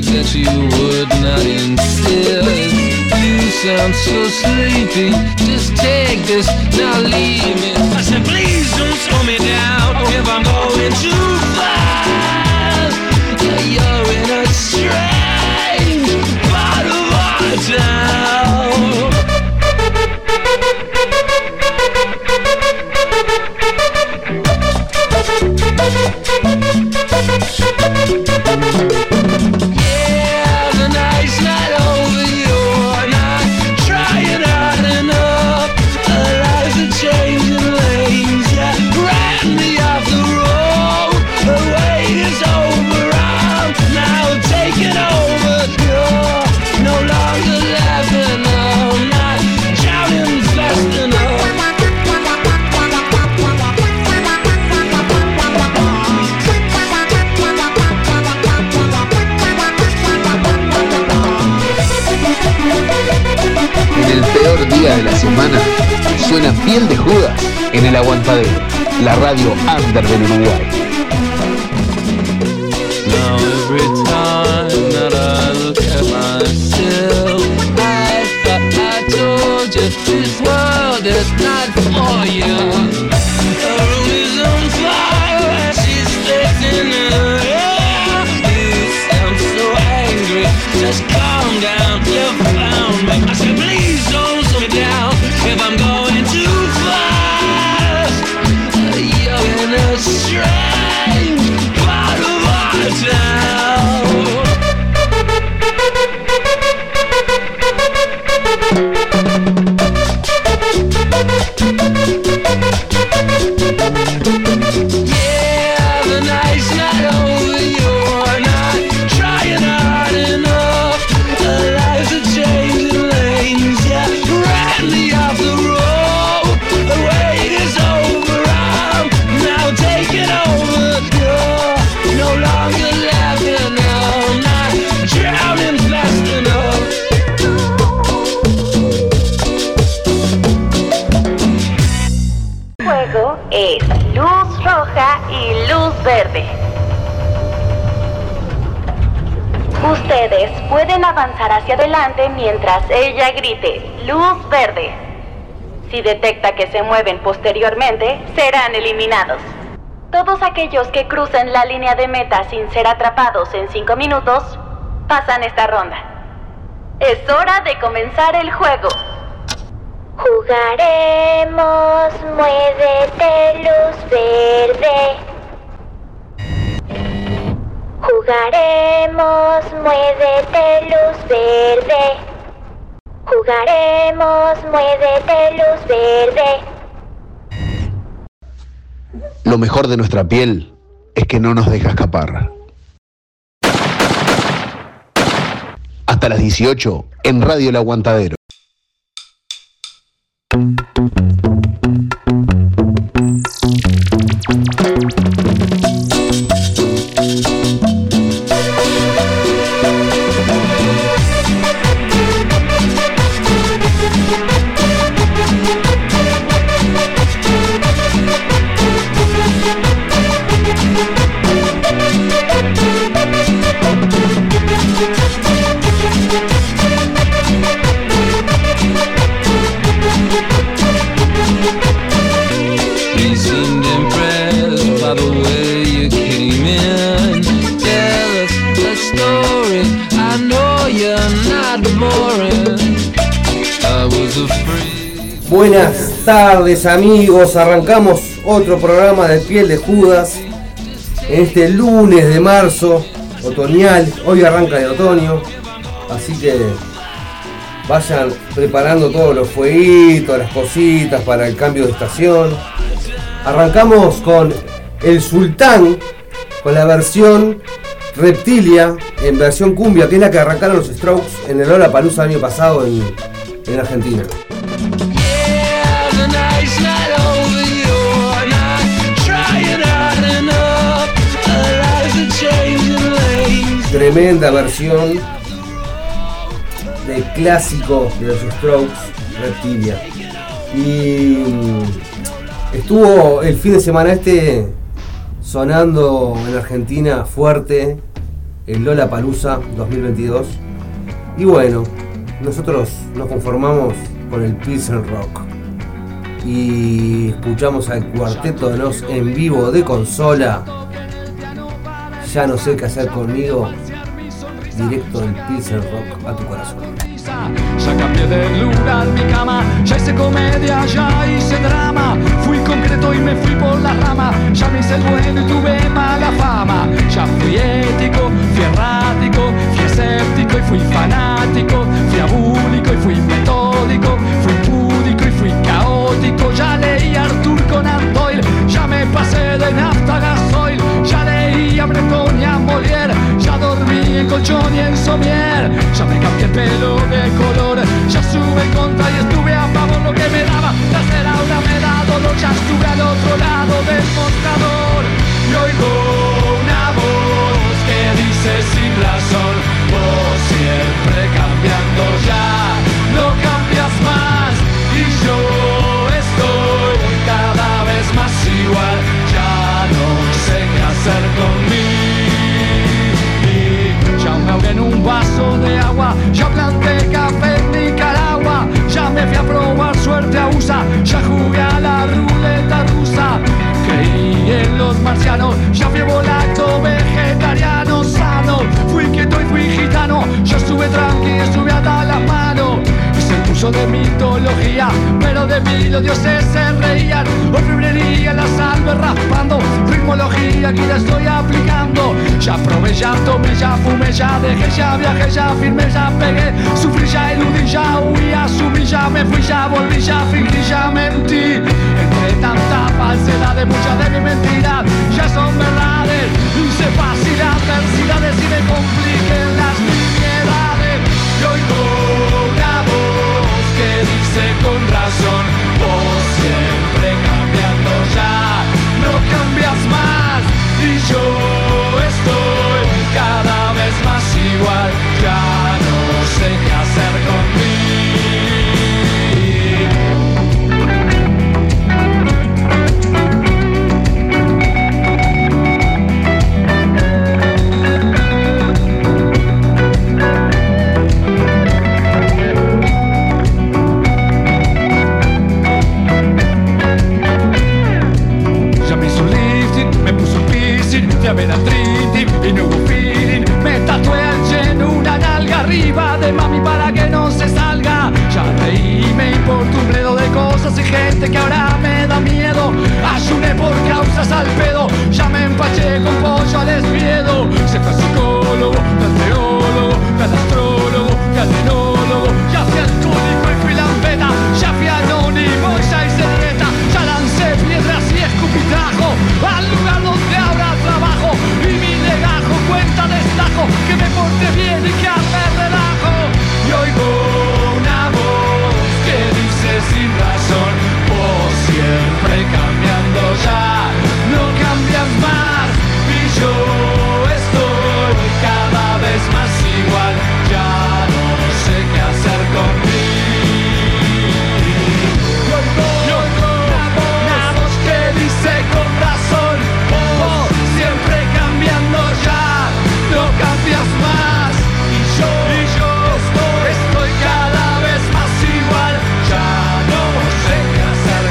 beg that you would not insist. You sound so sleepy, just take this, now leave me. I said please don't slow me down if I'm going too fast. You're in a strange part of our town. Yeah, the night's not over, you're not trying hard enough. Our lives are changing lanes, yeah, ran me off the road. The wait is over, I'm now taking over. You're no longer laughing, I'm not shouting fast enough. En el peor día de la semana suena Piel de Judas en El Aguantadero, la radio under del Uruguay. Now every time that I look at myself, I thought I told you this world is not for you. The room is on fire, she's splitting her hair. You sound so angry, just calm down, you found me. I said please don't slow me down if I'm going too fast. You're in a strange part of our town. Yeah, the night's not over, you're not trying hard enough. Our lives are changing lanes, yeah, ran me off the road. The wait is over, I'm now taking over. You're no longer laughing, I'm not drowning fast enough. Juego es luz roja y luz verde. Ustedes pueden avanzar hacia adelante mientras ella grite luz verde. Si detecta que se mueven posteriormente, serán eliminados. Todos aquellos que crucen la línea de meta sin ser atrapados en 5 minutos, pasan esta ronda. Es hora de comenzar el juego. Jugaremos, muévete luz verde. Jugaremos, muévete luz verde. Jugaremos, muévete luz verde. Lo mejor de nuestra piel es que no nos deja escapar. Hasta las 18 en Radio El Aguantadero. He seemed impressed by the way you came in. Tell us a story, I know you're not boring. I was afraid. Buenas tardes amigos, arrancamos otro programa de Piel de Judas en este lunes de marzo, otoñal, hoy arranca el otoño, así que vayan preparando todos los fueguitos, las cositas para el cambio de estación. Arrancamos con El Sultán, con la versión Reptilia, en versión cumbia, que es la que arrancaron los Strokes en el Lollapalooza el año pasado en Argentina. Tremenda versión del clásico de los Strokes, Reptilia. Y estuvo el fin de semana sonando en Argentina fuerte el Lollapalooza 2022. Y bueno, nosotros nos conformamos con el Pilsen Rock y escuchamos al Cuarteto de Nos en vivo de Consola. Ya no sé qué hacer conmigo, directo del Pilsen Rock a tu corazón. Ya cambié de lugar mi cama, ya hice comedia, ya hice drama. Fui concreto y me fui por la rama. Ya me hice el bueno y tuve mala fama. Ya fui ético, fui errático, fui escéptico y fui fanático. Fui abúlico y fui metódico, fui púdico y fui caótico. Ya leí a Arthur Conan Doyle, ya me pasé de nafta a gasoil. Ya leí a Breton y a Molière, ya dormí en colchón y en somier. Ya me cambié el pelo de color, ya sube en contra y estuve a favor. Lo que me daba placer ahora me da dolor. Ya estuve al otro lado del mostrador y oigo una voz que dice sin razón: vos siempre cambiando, ya no cambias más. Y yo estoy cada vez más igual, ya no sé qué hacer conmigo. Ya me ahogué en un vaso de agua, ya planté café en Nicaragua. Ya me fui a probar suerte a USA, ya jugué a la ruleta rusa. Creí en los marcianos, ya fui volacto, vegetariano, sano. Fui quieto y fui gitano, yo estuve tranqui, estuve hasta las manos. Hice el curso de mitología, pero de mí los dioses se reían. Orfebrería, la salve raspando, ritmología aquí la estoy aplicando. Ya probé, ya tomé, ya fumé, ya dejé, ya viajé, ya firmé, ya pegué. Sufrí, ya eludí, ya huí, asumí, ya me fui, ya volví, ya fingí, ya mentí. Entre tanta falsedad, muchas de mis mentiras ya son verdades. Hice fácil adversidades y me compliquen las nimiedades. Y oigo una voz que dice con razón: vos siempre cambiando, ya no cambias más. Y yo estoy cada vez más igual, ya no sé qué hacer conmigo. Me da triti y no hubo feeling. Me tatué al lleno una nalga arriba de mami para que no se salga. Ya reí, me importa un bledo de cosas y gente que ahora me da miedo. Ayuné por causas al pedo, ya me empaché con pollo al espiedo. Se fue psicólogo, teólogo, astrólogo, enólogo. Ya fui alcohólico y fui lampeta, ya fui anónimo y ya hice dieta. Ya lancé piedras y escupitrajo al lugar donde habrá trabajo. Y mi legajo cuenta destajo que me porte bien y que me relajo. Y oigo una voz que dice sin razón: vos siempre cambiando, ya no cambias más. Y yo estoy cada vez más igual, ya no sé qué hacer conmigo. Y oigo una voz que dice con razón: vos siempre cambiando, ya no cambias más. Y yo estoy cada vez más igual, ya no sé qué hacer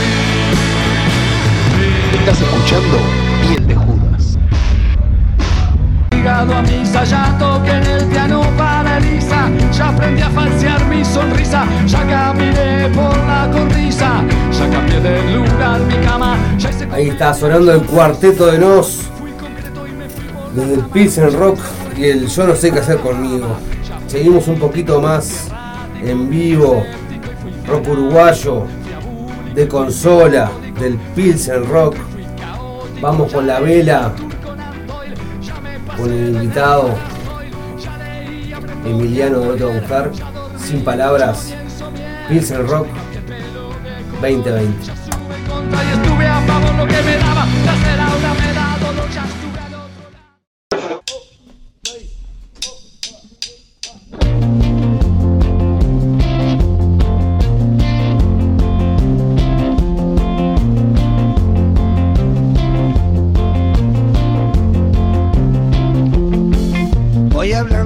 conmigo. Estás escuchando Piel de Judas. Ligado a misa, ya toqué en el piano para Elisa. Ya aprendí a falsear mi sonrisa, ya caminé por la cornisa. Ya cambié de lugar mi cama, ya hice... Ahí está sonando el Cuarteto de Nos desde el Pilsen Rock y el Yo no sé qué hacer conmigo. Seguimos un poquito más en vivo, rock uruguayo de Consola, del Pilsen Rock. Vamos con la vela, con el invitado Emiliano de No Te Va a Gustar. Sin palabras, Pilsen Rock 2020. Y estuve a favor, lo que me daba placer ahora me da dolor. Ya estuve al otro lado.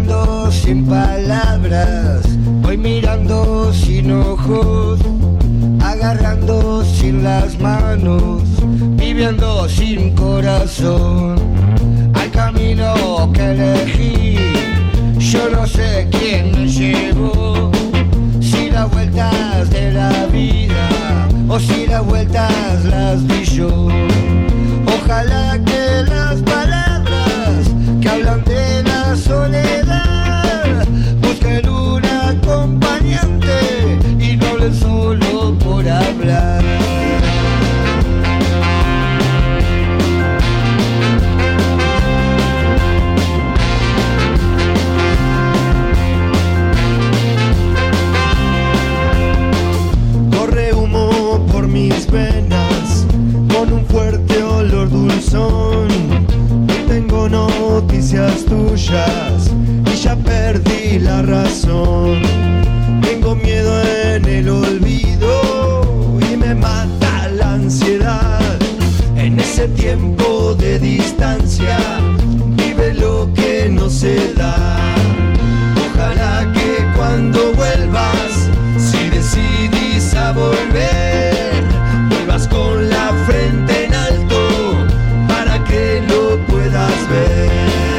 hablando sin palabras, voy mirando sin ojos, agarrando sin las manos, viviendo sin corazón. Al camino que elegí, yo no sé quién me llevó, si las vueltas de la vida o si las vueltas las di yo. Ojalá que las palabras que hablan de la soledad busquen un acompañante y no hablen solo por hablar. Corre humo por mis venas con un fuerte olor dulzón. No tengo noticias tuyas y ya perdí la razón. Tengo miedo en el olvido y me mata la ansiedad. En ese tiempo de distancia vive lo que no se da. Ojalá que cuando vuelvas, si decidís a volver, vuelvas con la frente en alto para que lo puedas ver.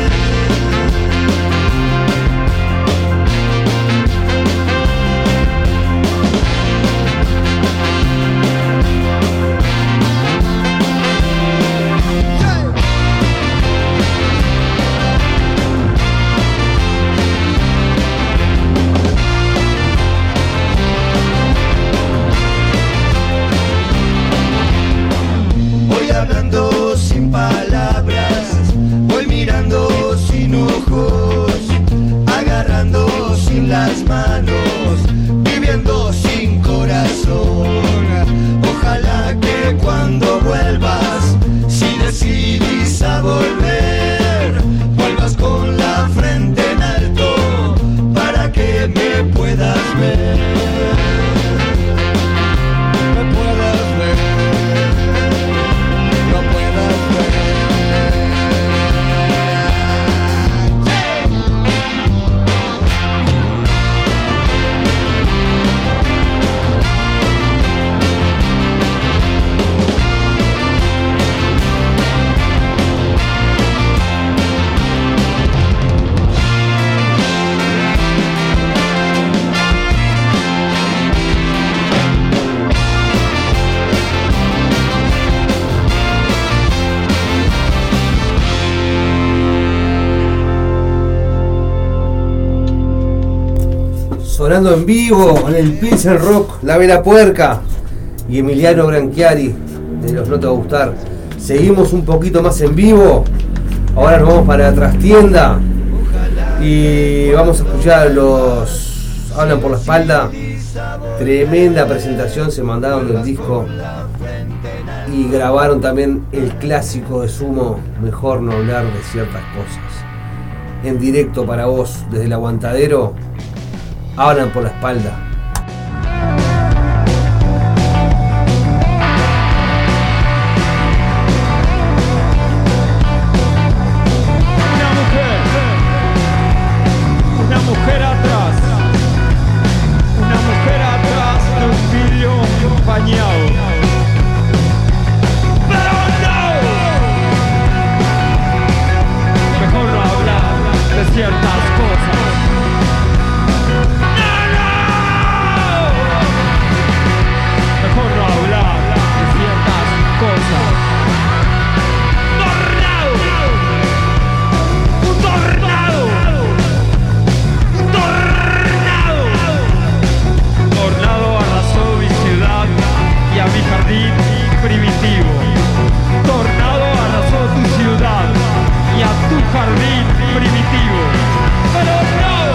Hablando sin palabras, voy mirando sin ojos, agarrando sin las manos, viviendo sin corazón. Ojalá que cuando vuelvas, si decidís a volver, vuelvas con la frente en alto para que me puedas ver. Me puedas ver. Sonando en vivo en el Pilsen Rock, La Vela Puerca y Emiliano Branchiari de Los No Te Va a Gustar. Seguimos un poquito más en vivo. Ahora nos vamos para la trastienda y vamos a escuchar los Hablan por la Espalda. Tremenda presentación, se mandaron del disco y grabaron también el clásico de Sumo, Mejor no hablar de ciertas cosas. En directo para vos desde el Aguantadero. Hablan por la Espalda. Una mujer atrás de un vidrio empañado. Pero no, mejor no hablar de ciertas cosas. Primitivo. Tornado arrasó tu ciudad y a tu jardín primitivo. Pero no.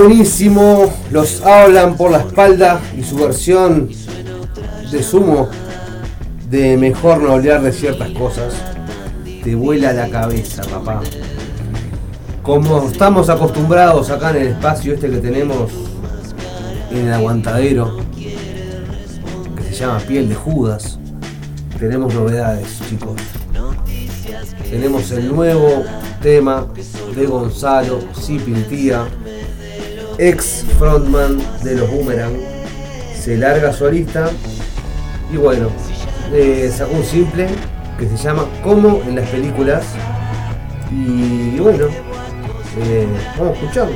buenísimo, los hablan por la espalda y su versión de Sumo de Mejor no hablar de ciertas cosas te vuela la cabeza, papá. Como estamos acostumbrados acá en el espacio este que tenemos en el aguantadero, que se llama Piel de Judas, tenemos novedades, chicos. Tenemos el nuevo tema de Gonzalo Cipiltía, ex frontman de los Boomerang. Se larga solista y bueno, sacó un simple que se llama Como en las películas. Y bueno, vamos a escucharlo.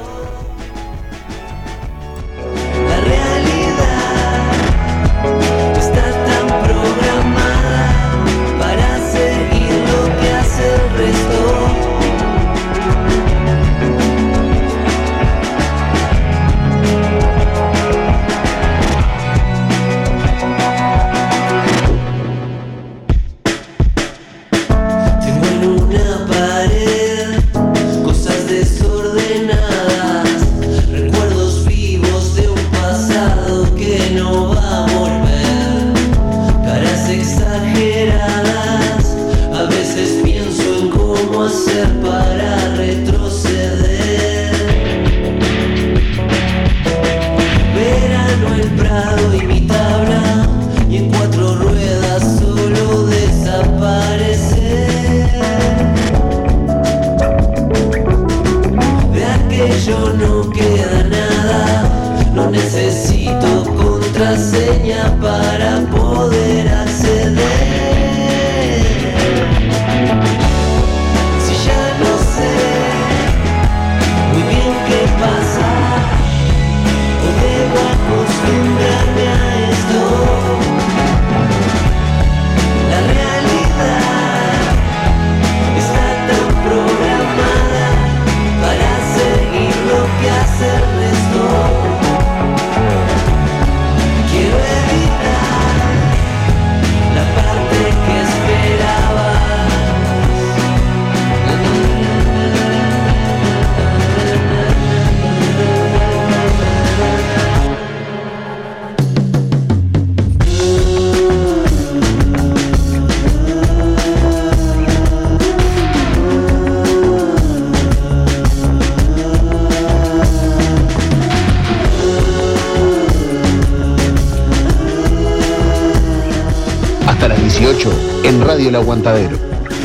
En Radio El Aguantadero.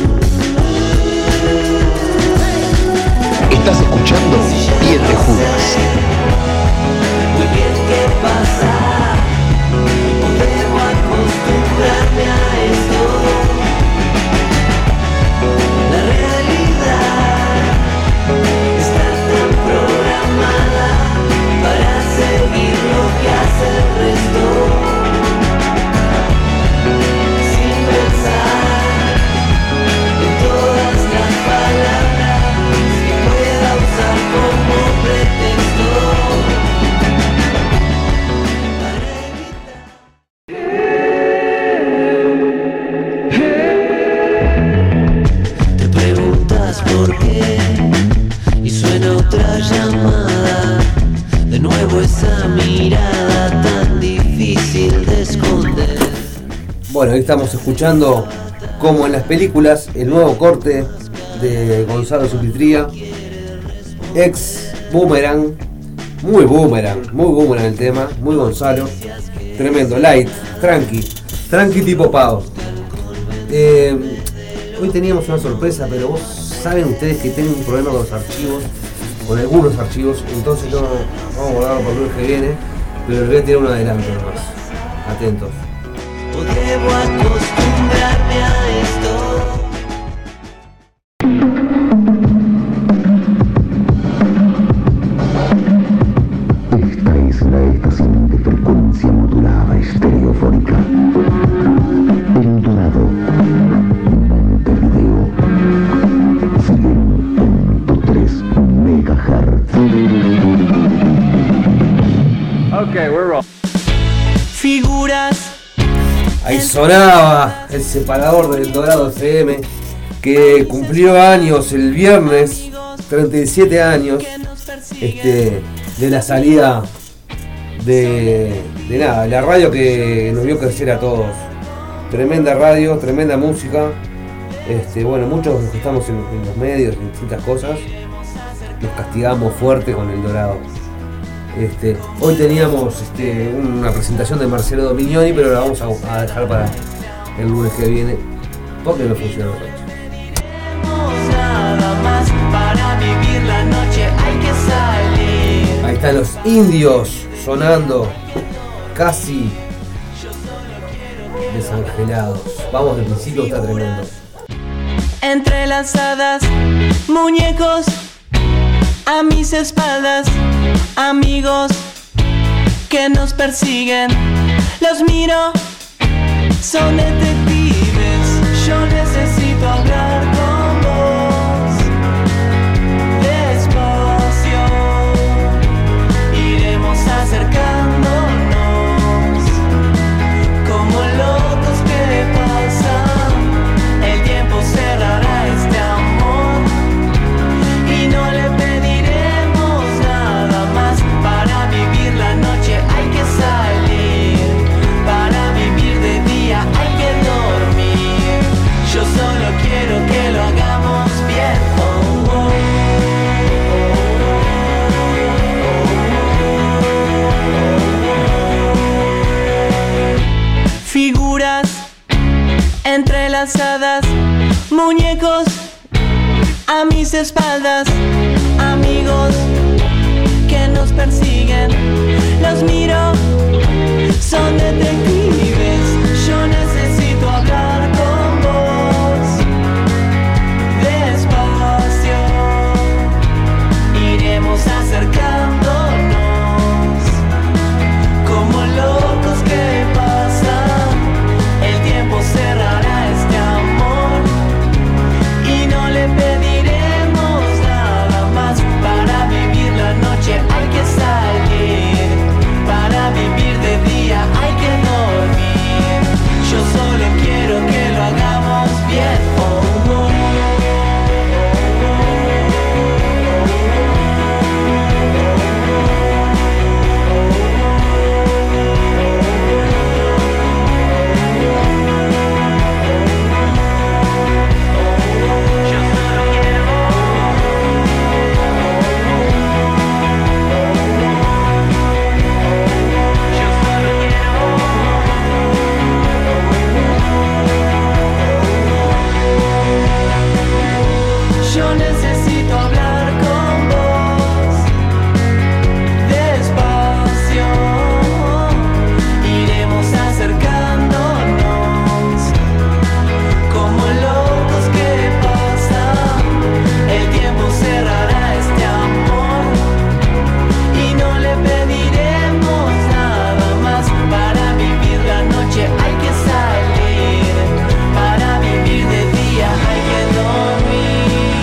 Estás escuchando Piel de Judas. Muy bien, ¿qué pasa? No debo acostumbrarme a esto. La realidad está tan programada para seguir lo que hace el resto. Bueno, ahí estamos escuchando, como en las películas, el nuevo corte de Gonzalo Cipiltía, ex Boomerang. Muy Boomerang el tema, muy Gonzalo. Tremendo, light, tranqui tipo pavo. Hoy teníamos una sorpresa, pero vos saben ustedes que tengo un problema con los archivos, con algunos archivos, entonces no vamos a guardarlo para el lunes que viene, pero les voy a tirar un adelanto nomás. Atentos. ¿O debo acostumbrarme a esto? Esta es la estación de frecuencia modulada estereofónica. El Dorado, Montevideo, 100.3 MHz. Okay, we're rolling. Figuras. Ahí sonaba el separador del Dorado FM, que cumplió años el viernes, 37 años, de la salida de la radio que nos vio crecer a todos. Tremenda radio, tremenda música. Bueno, muchos de los que estamos en los medios, en distintas cosas, nos castigamos fuerte con El Dorado. Hoy teníamos una presentación de Marcelo Domignoni, pero la vamos a dejar para el lunes que viene, porque no funciona hoy. Nada más para vivir la noche hay que salir. Ahí están los Indios sonando, casi desangelados. Vamos del principio, está tremendo. Entrelazadas, muñecos a mis espaldas, amigos que nos persiguen. Los miro, son detectives. Yo necesito hablar con vos. Despacio, iremos acercándonos como locos que pasan. El tiempo cerrará este amor y no le pediremos nada más. Para vivir la noche hay que salir, para vivir de día hay que dormir. Yo solo quiero que lo hagamos bien. Oh, oh. Figuras entrelazadas, muñecos a mis espaldas, amigos que nos persiguen. Los miro, son detectives. Yo necesito hablar con vos. Despacio, iremos acercándonos como locos que pasan. El tiempo cerrará este amor y no le pediremos nada más. Para vivir la noche hay que salir, para vivir de día hay que dormir. Yo solo quiero que lo hagamos bien. Oh, oh. Yo necesito hablar con vos. Despacio, iremos acercándonos como locos que pasan. El tiempo cerrará este amor y no le pediremos nada más. Para vivir la noche hay que salir, para vivir de día hay que dormir.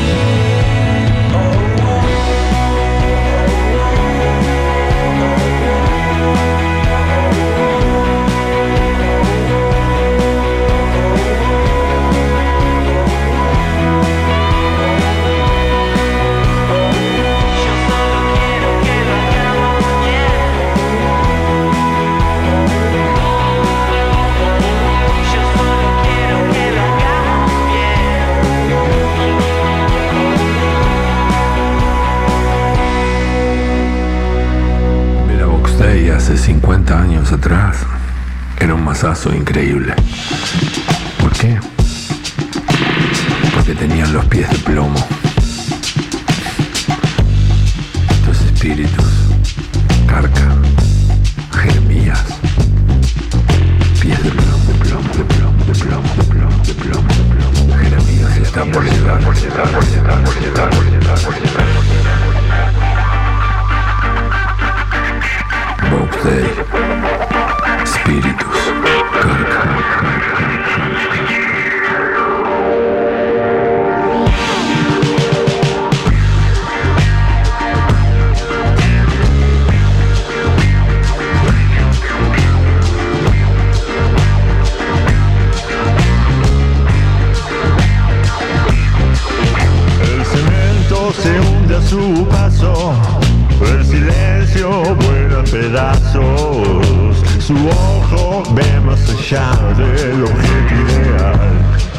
Ver a Box Day hace 50 años atrás era un masazo increíble. ¿Por qué? Porque tenían los pies de plomo. Estos espíritus, Carca, Jeremías, pies de plomo, de plomo, de plomo, de plomo, de plomo, de plomo, de plomo. Jeremías está por llegar, por llegar, por llegar, por llegar, por llegar, por llegar. Box Day, espíritus, Carca. brazos, su ojo ve más allá del objeto ideal.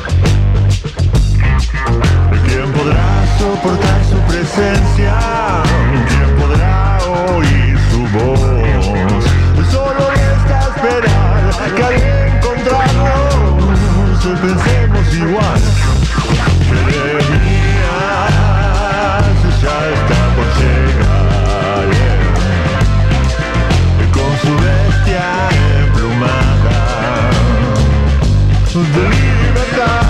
¿Quién podrá soportar su presencia? ¿Quién podrá oír su voz? Solo resta esperar que al encontrarnos hoy pensemos igual. Jeremías ya está por llegar, con su bestia emplumada de libertad.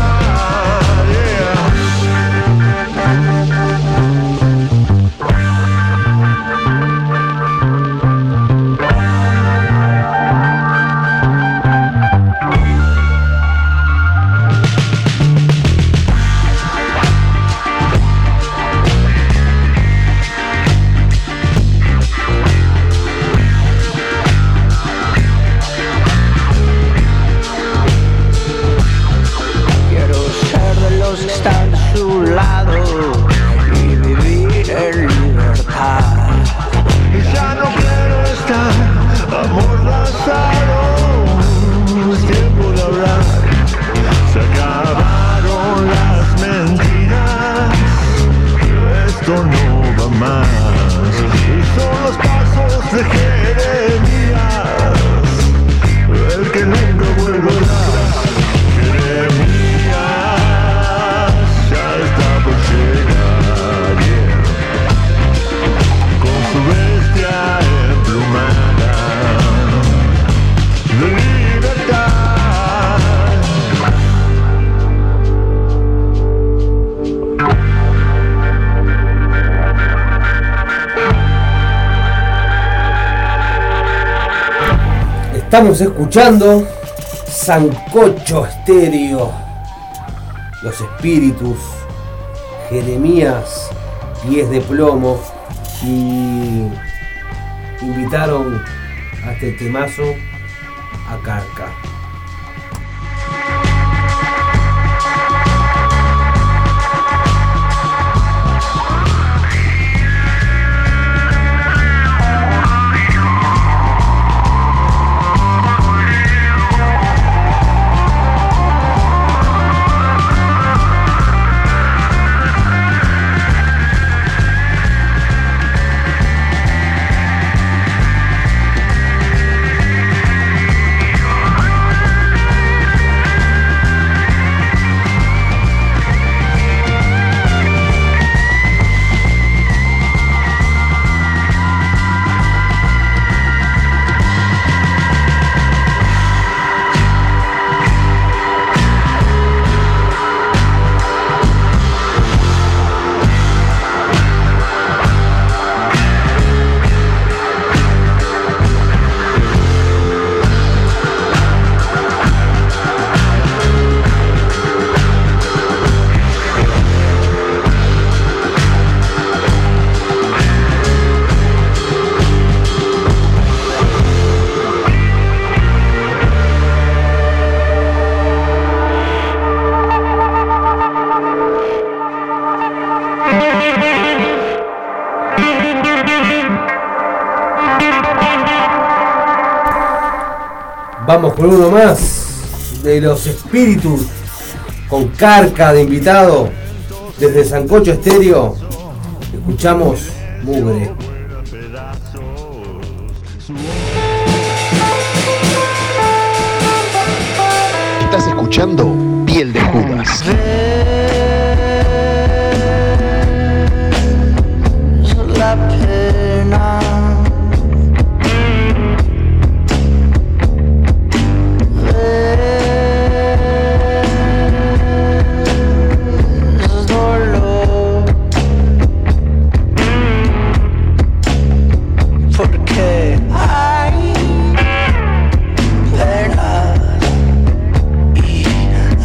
Estamos escuchando Sancocho Estéreo, Los Espíritus, Jeremías, Pies de Plomo, y invitaron a este temazo a Carca. Vamos con uno más de Los Espíritus, con Carca de invitado desde Sancocho Estéreo. Escuchamos Mugre. Estás escuchando Piel de Judas. La pena es dolor, porque hay penas y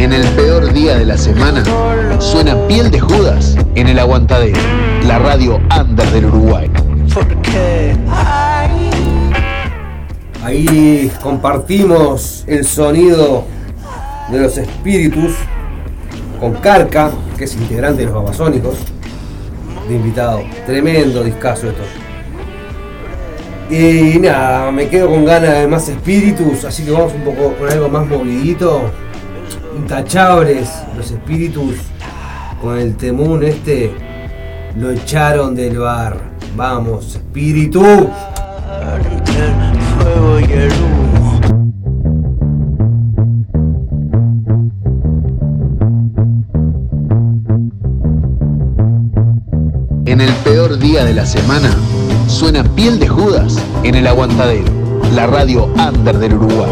En el peor día de la semana suena Piel de Judas en el Aguantadero, la radio under del Uruguay. Ahí compartimos el sonido de los Espíritus con Carca, que es integrante de los Babasónicos, de invitado. Tremendo discazo esto. Y nada, me quedo con ganas de más Espíritus, así que vamos un poco con algo más movidito. Intachables, los Espíritus, con el temún este, lo echaron del bar. Vamos, Espíritu. Fuego y el humo. En el peor día de la semana suena Piel de Judas en el Aguantadero, la radio under del Uruguay.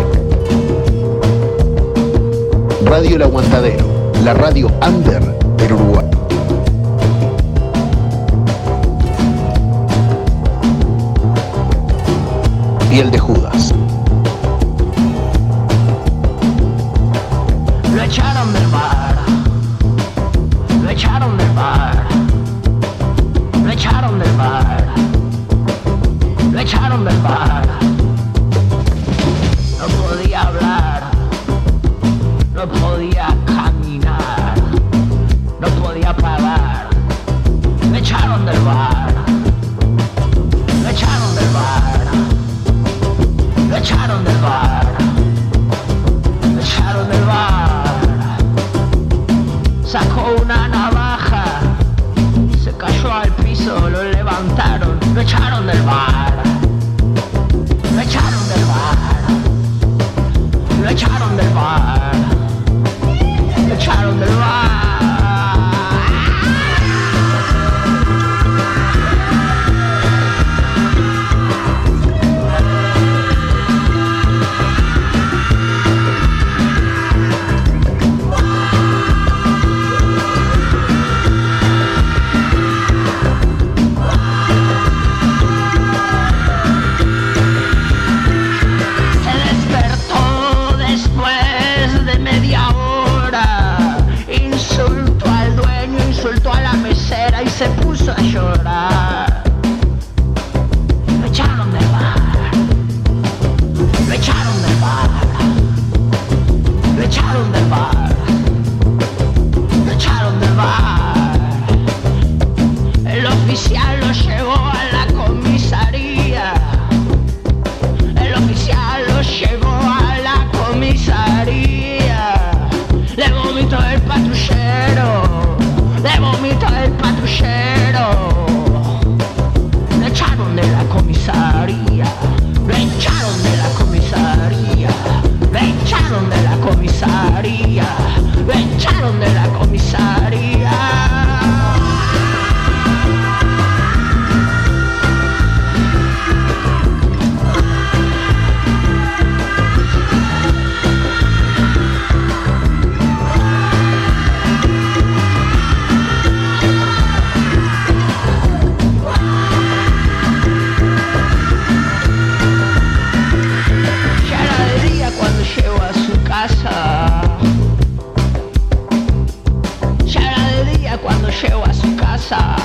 Radio El Aguantadero, la radio under del Uruguay. Piel de Judas. Lo echaron del bar. Lo echaron del bar. Lo echaron del bar. Lo echaron del bar. No podía hablar. No podía caminar. No podía parar. Lo echaron del bar. Lo echaron del bar. Lo echaron del bar. Lo echaron del bar. Sacó una navaja. Se cayó al piso, lo levantaron. Lo echaron del bar. Lo echaron del bar. Lo echaron del bar. Lo echaron del bar. Y se puso a llorar. Lo echaron del bar. Lo echaron del bar. Lo echaron del bar. Lo echaron del bar. El oficial lo llevó a la comisaría. El oficial lo llevó a la comisaría. Le vomitó el patrullero. Le vomitó el patrullero. Lo echaron de la comisaría. Lo echaron de la comisaría. Lo echaron de la comisaría. Lo echaron de la comisaría. Ya era de día cuando llegó a su casa.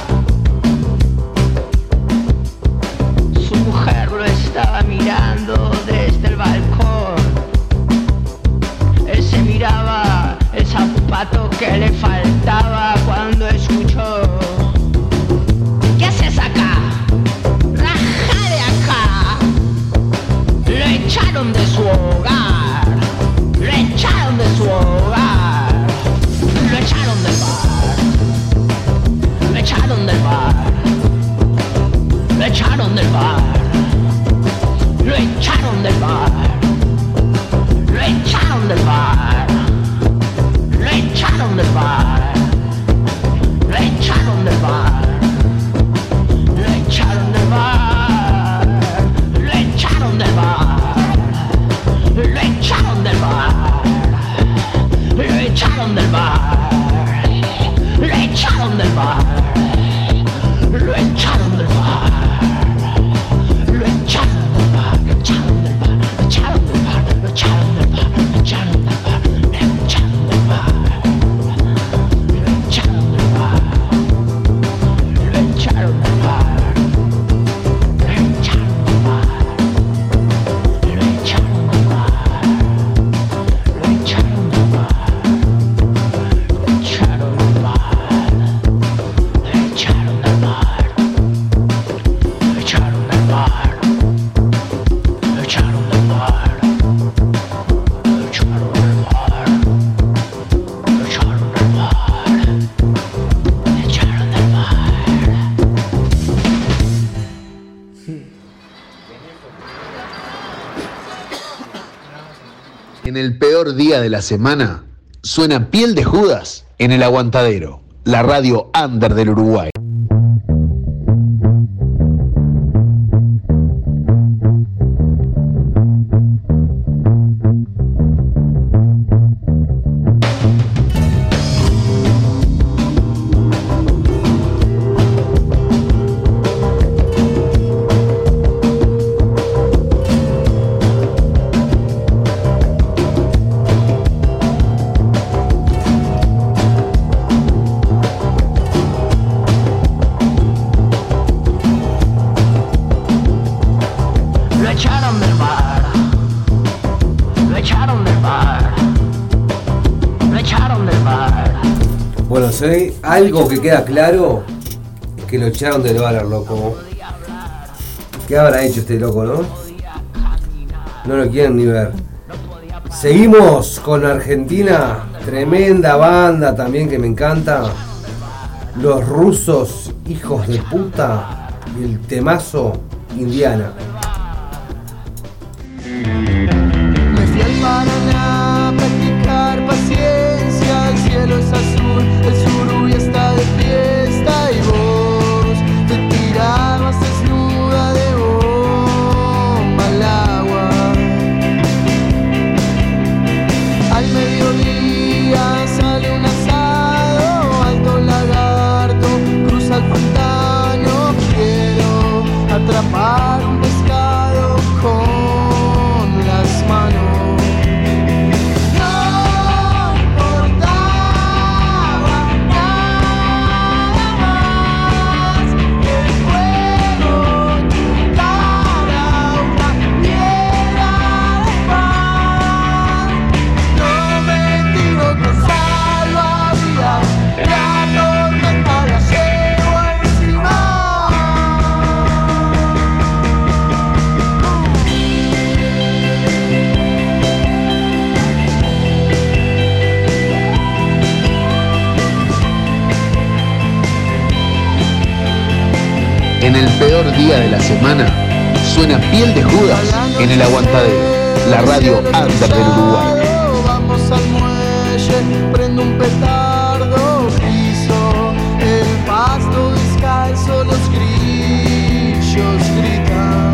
Su mujer lo estaba mirando desde el balcón. Él se miraba el zapato que le faltaba cuando escuchó: ¿qué haces acá? ¡Raja de acá! Lo echaron de su hogar. Lo echaron de su hogar. Lo echaron del bar. Lo echaron del bar. Lo echaron del bar. Lo echaron del bar. Lo echaron del bar. Lo echaron del bar. Lo echaron del bar. Lo echaron del bar. Lo echaron del bar. el peor día de la semana, suena Piel de Judas en El Aguantadero, la radio under del Uruguay. Bueno, si hay algo que queda claro es que lo echaron del bar al loco. ¿Qué habrá hecho este loco, no? No lo quieren ni ver. Seguimos con Argentina, tremenda banda también que me encanta. Los rusos, hijos de puta, y el temazo Indiana. Me fui al Paraná a practicar paciencia. El cielo es azul, el surubí está de fiesta y vos te tirabas desnuda de bomba al agua. Al mediodía sale un asado, alto lagarto, cruza el pantano. Quiero atrapar un pescado con las manos. En el peor día de la semana, suena Piel de Judas en El Aguantadero, la radio under del Uruguay. Vamos al muelle, prendo un petardo, piso el pasto descalzo, los grillos gritan.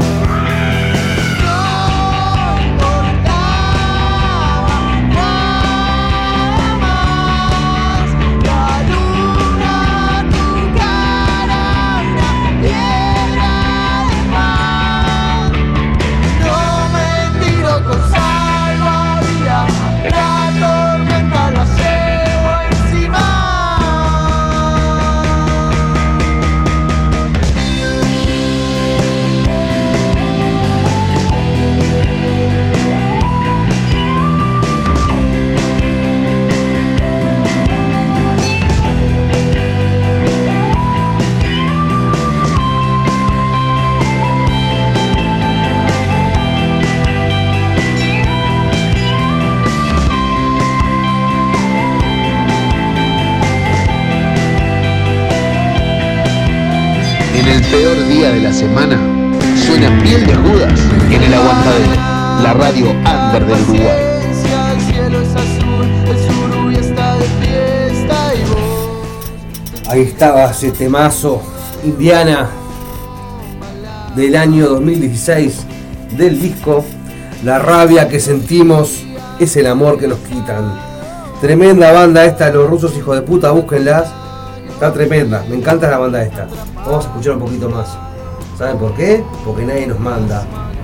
En el peor día de la semana, suena Piel de Judas en El Aguantadero, la radio under del Uruguay. El cielo es azul, el surubí está de fiesta y vos. Ahí estaba ese temazo Indiana del año 2016 del disco La rabia que sentimos es el amor que nos quitan. Tremenda banda esta, los rusos hijos de puta, búsquenlas. Está tremenda, me encanta la banda esta. Vamos a escuchar un poquito más. ¿Saben por qué? Porque nadie nos manda.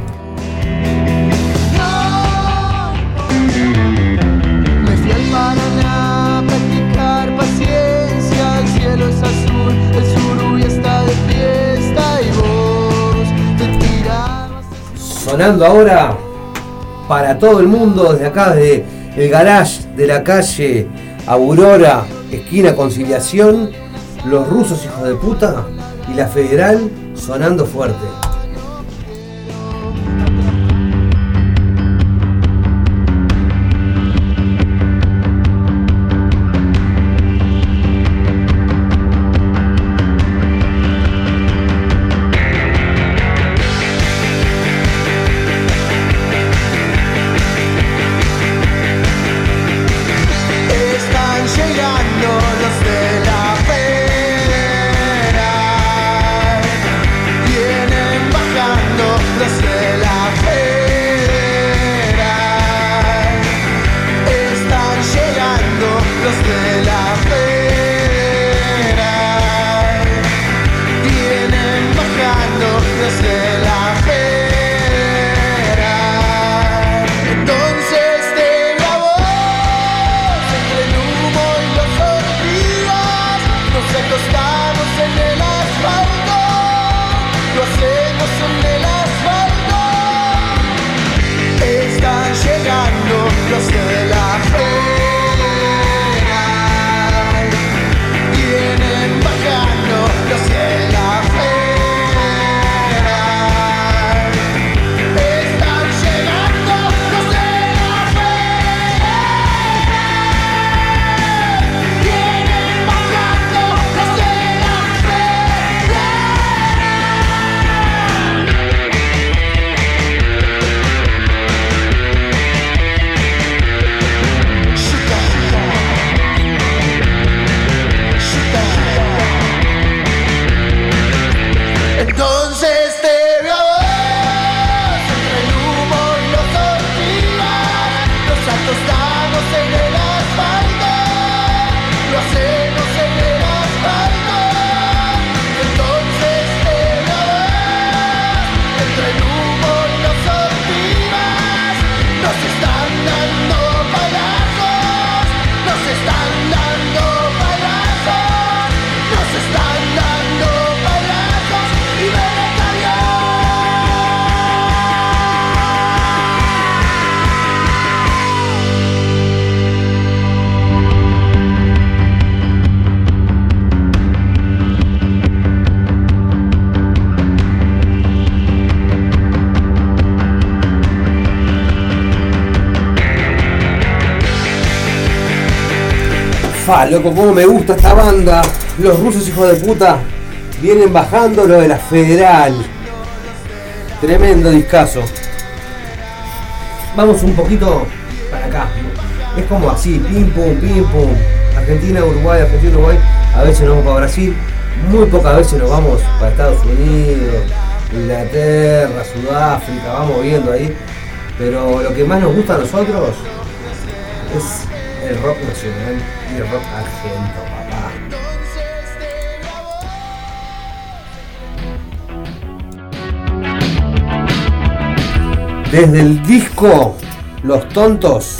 Me fui al Paraná a practicar paciencia. El cielo es azul, el surubí está de fiesta y vos te tirabas. Sonando ahora para todo el mundo desde acá, desde el garage de la calle Aurora, esquina Conciliación, los rusos hijos de puta y la Federal sonando fuerte. Fa, loco, cómo me gusta esta banda. Los rusos, hijos de puta, vienen bajando lo de la Federal. Tremendo discazo. Vamos un poquito para acá. Es como así, pim pum, pim pum. Argentina, Uruguay, Argentina, Uruguay. A veces nos vamos para Brasil. Muy pocas veces nos vamos para Estados Unidos, Inglaterra, Sudáfrica. Vamos viendo ahí. Pero lo que más nos gusta a nosotros es el rock nacional y el rock argento, papá. Desde el disco Los Tontos,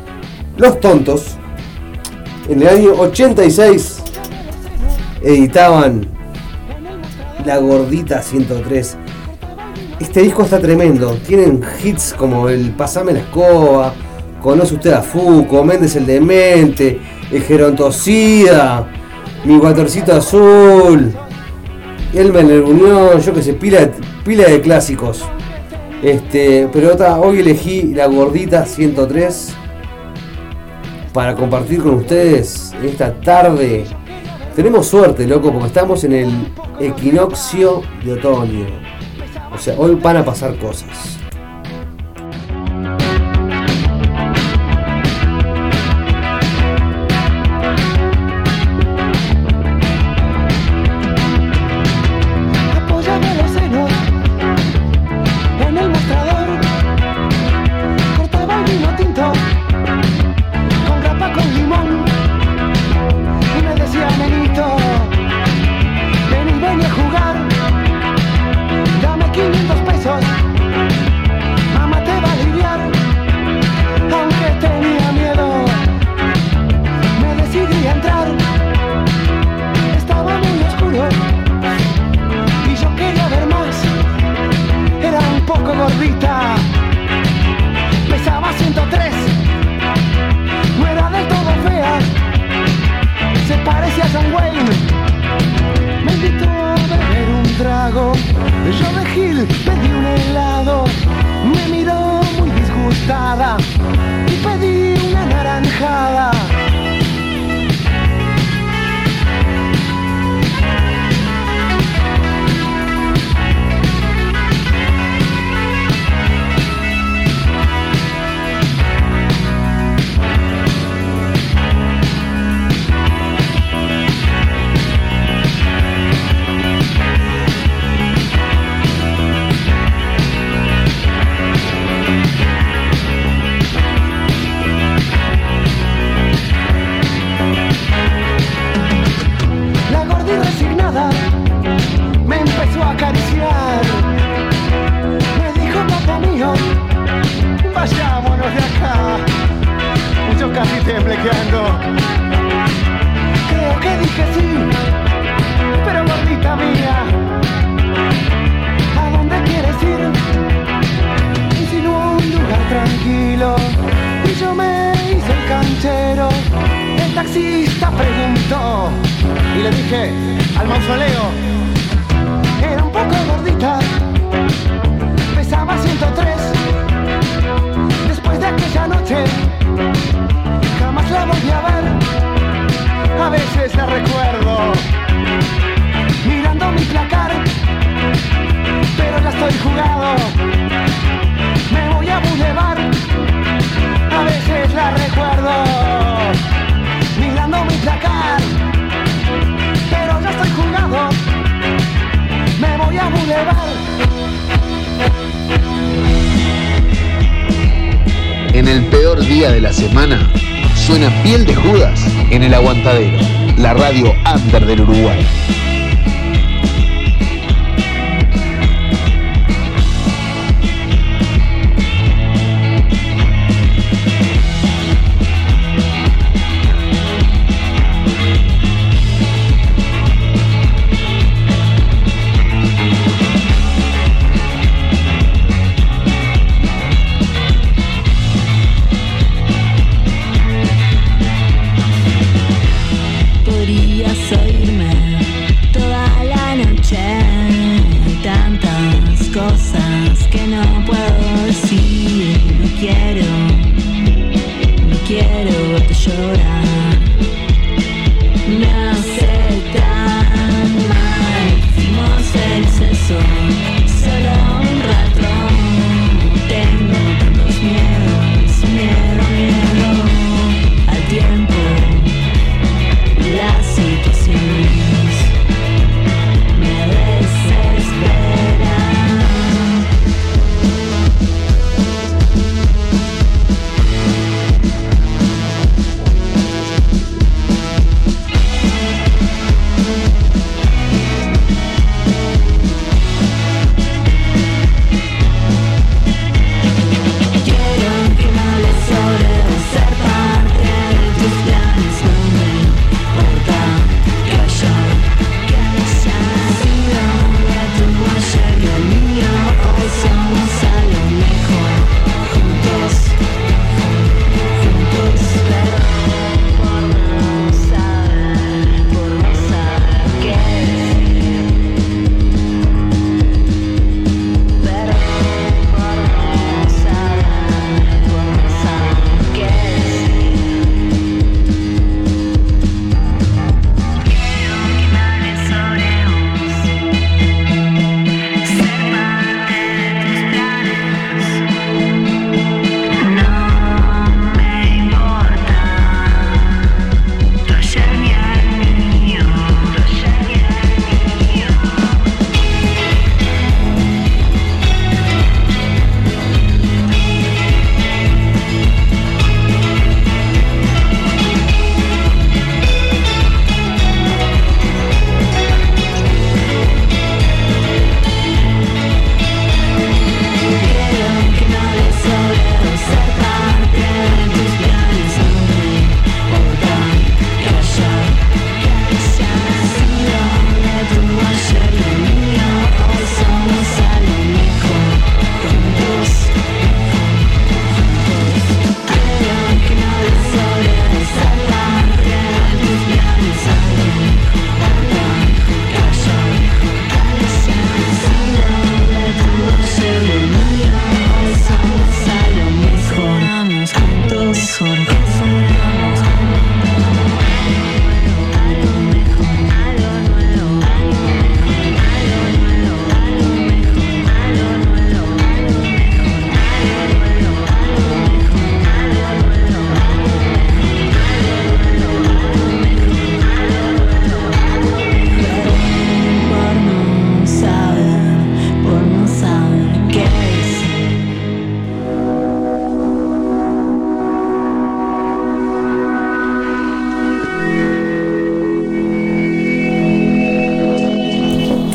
en el año 86 editaban La Gordita 103. Este disco está tremendo, tienen hits como el Pasame la Escoba, Conoce Usted a Fuco, Méndez el Demente, El Gerontocida, Mi Guatorcito Azul, Elmer en el Unión, yo que sé, pila de clásicos. Pero hoy elegí La Gordita 103 para compartir con ustedes en esta tarde. Tenemos suerte, loco, porque estamos en el equinoccio de otoño. O sea, hoy van a pasar cosas. En el peor día de la semana, suena Piel de Judas en El Aguantadero, la radio under del Uruguay. Quiero verte llorar.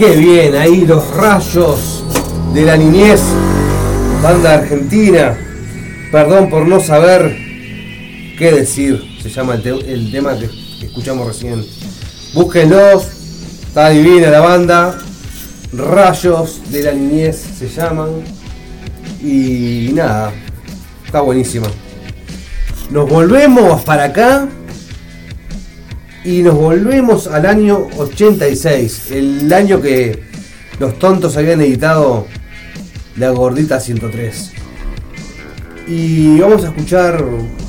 Qué bien, ahí los Rayos de la Niñez, banda argentina. Perdón por no saber qué decir, se llama el tema que escuchamos recién. Búsquenlos, está divina la banda. Rayos de la Niñez se llaman. Y nada, está buenísima. Nos volvemos para acá y nos volvemos al año 86, el año que los Tontos habían editado La Gordita 103. Y vamos a escuchar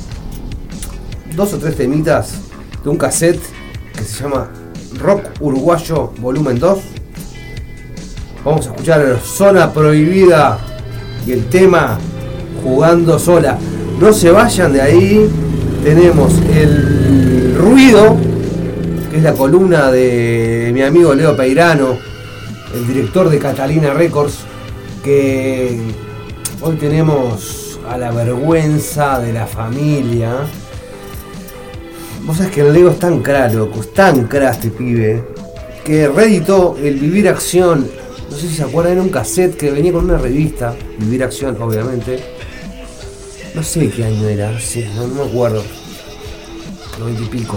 2 o 3 temitas de un cassette que se llama Rock Uruguayo Volumen 2. Vamos a escuchar Zona Prohibida y el tema Jugando Sola. No se vayan de ahí. Tenemos El Ruido, que es la columna de mi amigo Leo Peirano, el director de Catalina Records, que hoy tenemos a la vergüenza de la familia. Vos sabés que el Leo es tan cra, loco, es tan cra este pibe, que reeditó el Vivir Acción. No sé si se acuerdan, era un cassette que venía con una revista, Vivir Acción, obviamente. No sé qué año era, no me acuerdo. 90 y pico.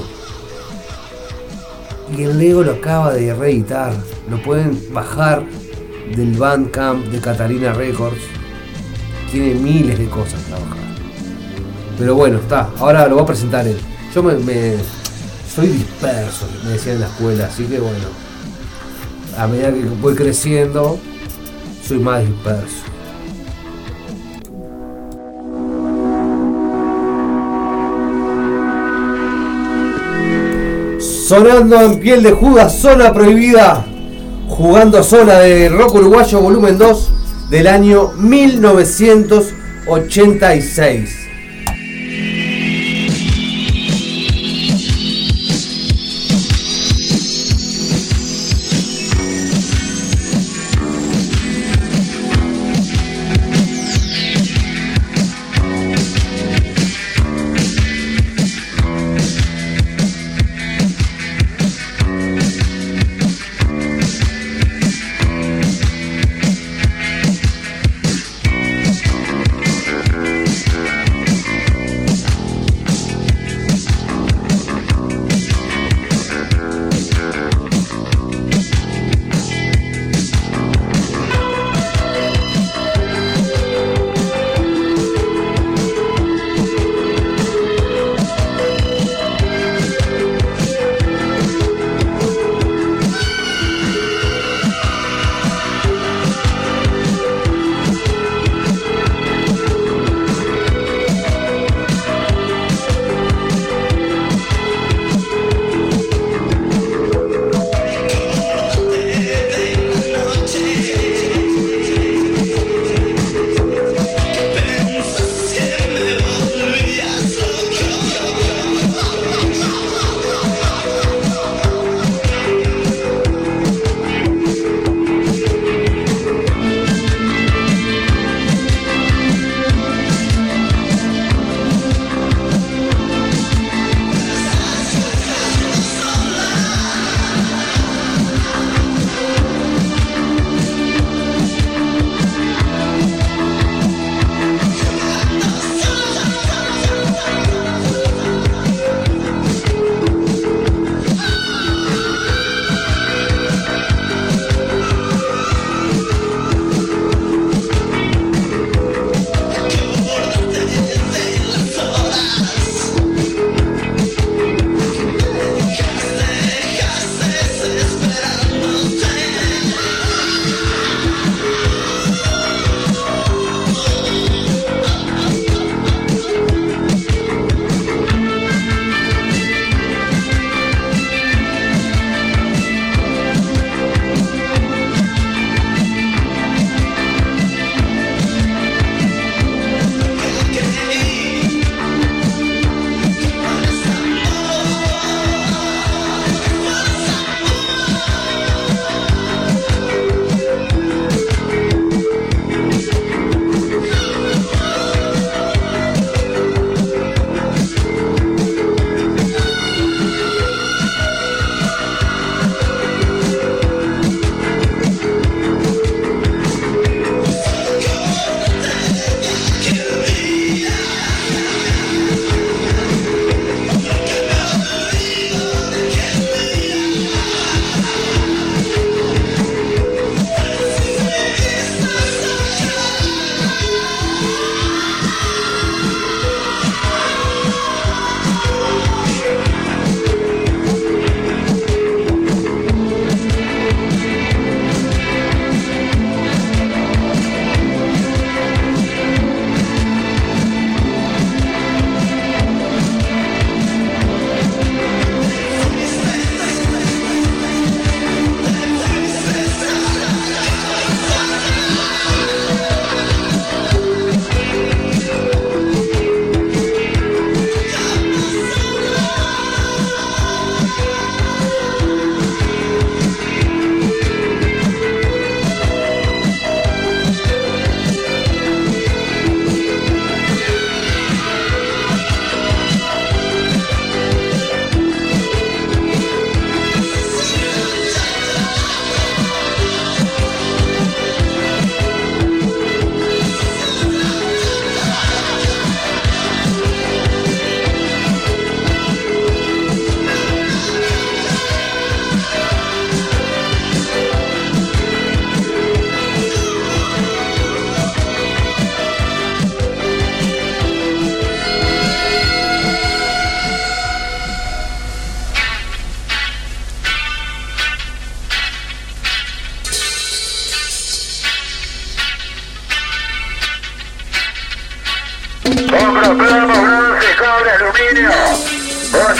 Y el Lego lo acaba de reeditar. Lo pueden bajar del Bandcamp de Catalina Records. Tiene miles de cosas para bajar. Pero bueno, está. Ahora lo va a presentar él. Yo soy disperso, me decían en la escuela. Así que bueno, a medida que voy creciendo, soy más disperso. Sonando en Piel de Judas, Zona Prohibida, Jugando Sola, de Rock Uruguayo Volumen 2 del año 1986.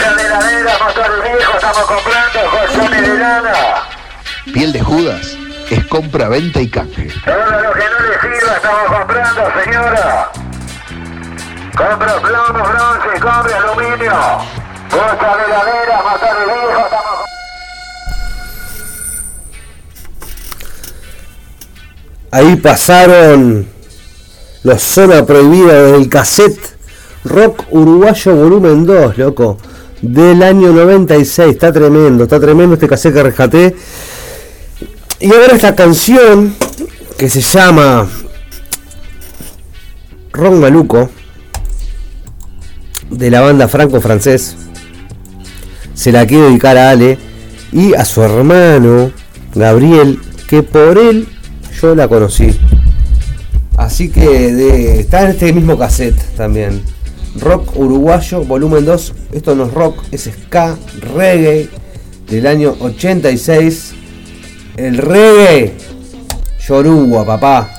Compran heladeras, motores viejos, estamos comprando colchones de lana. Piel de Judas es compra, venta y canje. Todo lo que no le sirva estamos comprando, señora. Compra plomo, bronce, cobre, aluminio. Bolsa de heladeras, motores viejos, estamos Ahí pasaron los Zona Prohibida del cassette Rock Uruguayo Volumen 2, loco, del año 96. Está tremendo este cassette que rescaté. Y ahora esta canción que se llama Rock Maluco, de la banda franco-francés, se la quiero dedicar a Ale y a su hermano Gabriel, que por él yo la conocí. Así que está en este mismo cassette también. Rock Uruguayo Volumen 2. Esto no es rock, es ska, reggae del año 86. El reggae Yoruba, papá.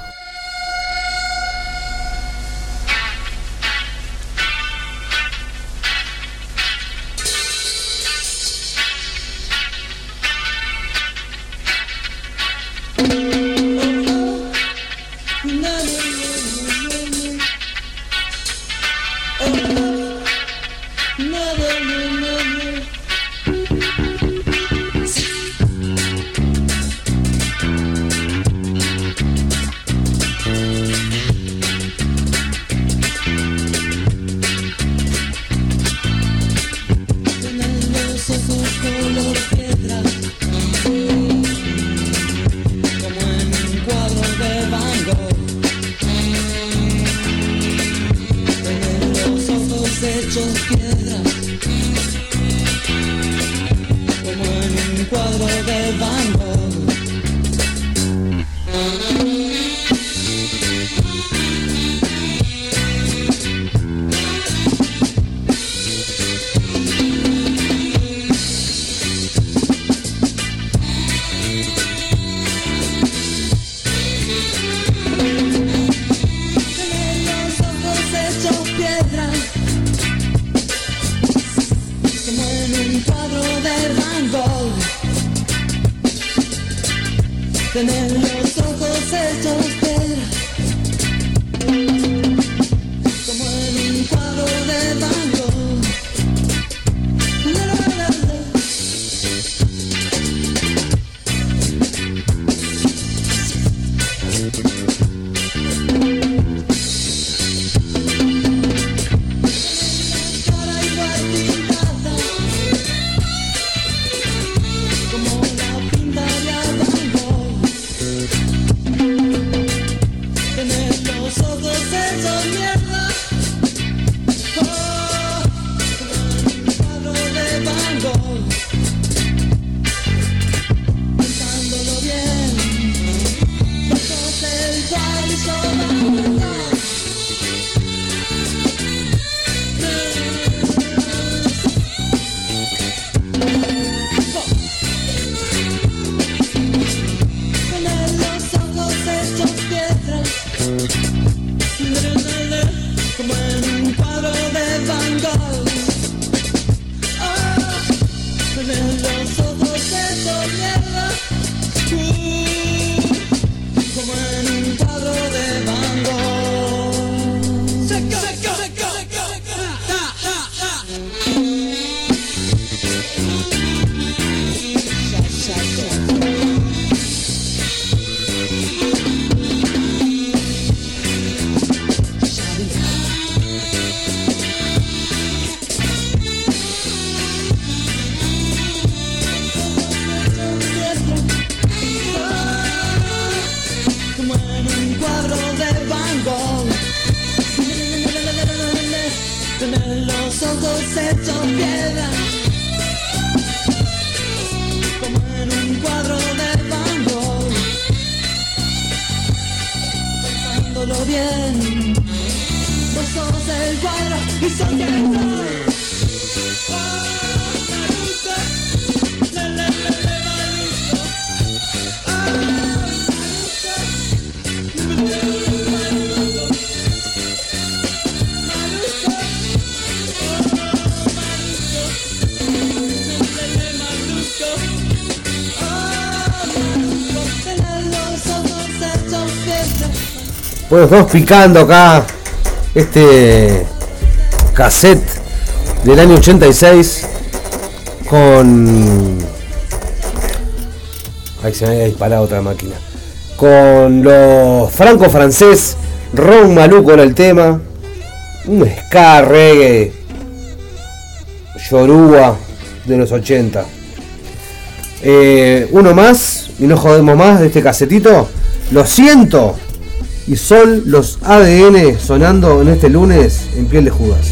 Bueno, estamos picando acá este cassette del año 86 con... Ahí se me había disparado otra máquina. Con los franco-francés, Ron Maluco era el tema. Un ska, reggae, yoruba de los 80. Uno más, y no jodemos más de este casetito. Lo siento. Y son los ADN sonando en este lunes en Piel de Judas.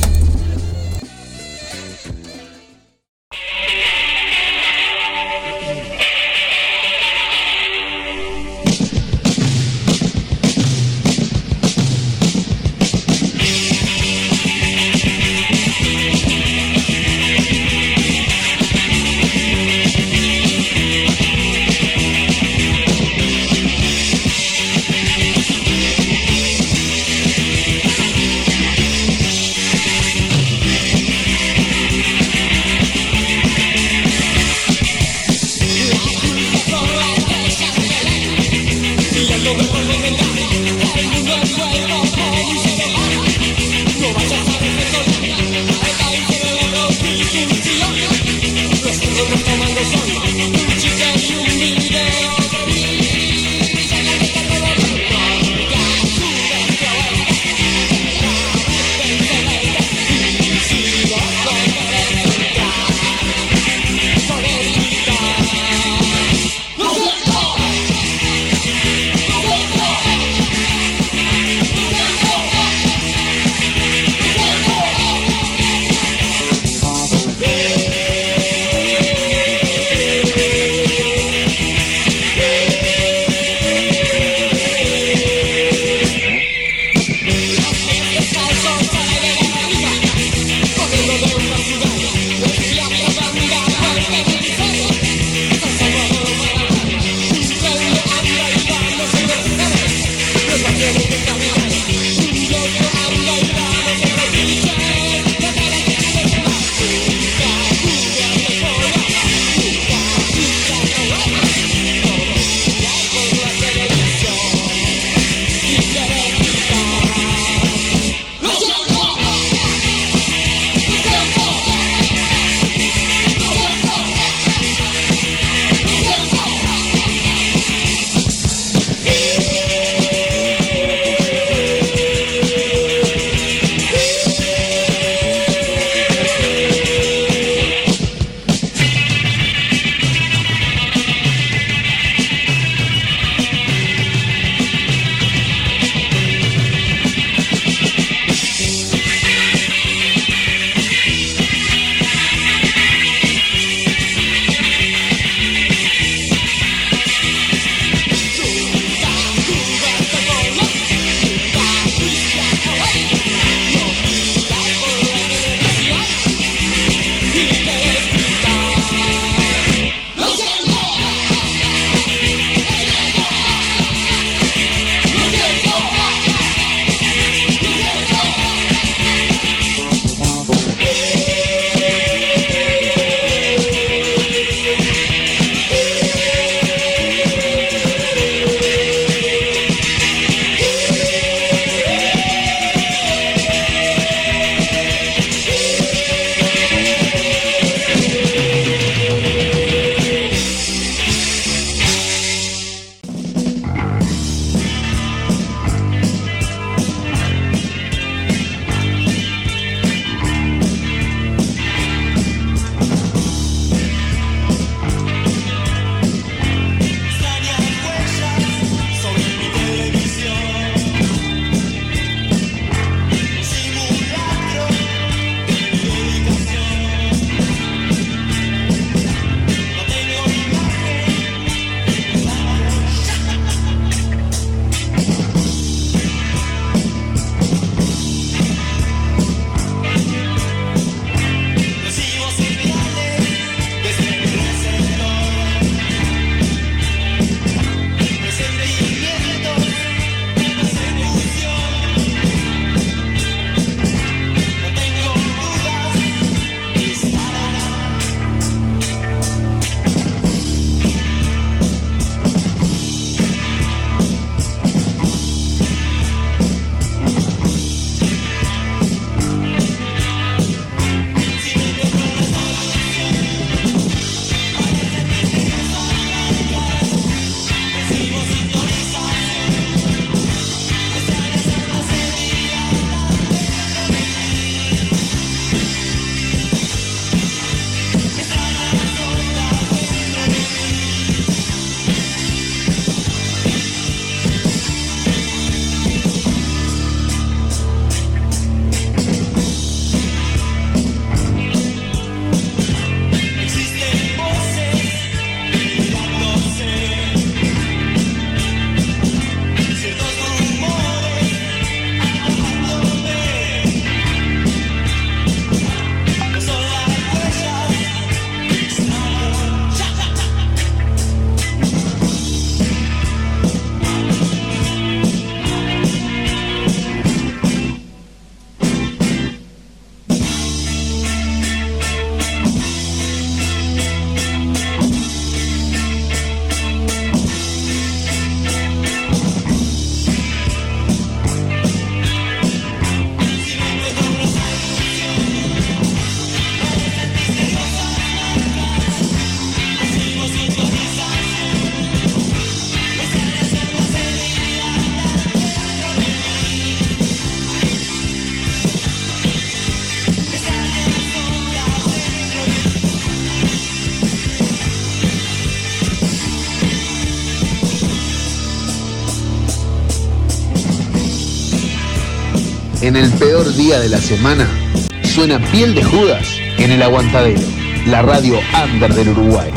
En el peor día de la semana, suena Piel de Judas en el Aguantadero, la radio under del Uruguay.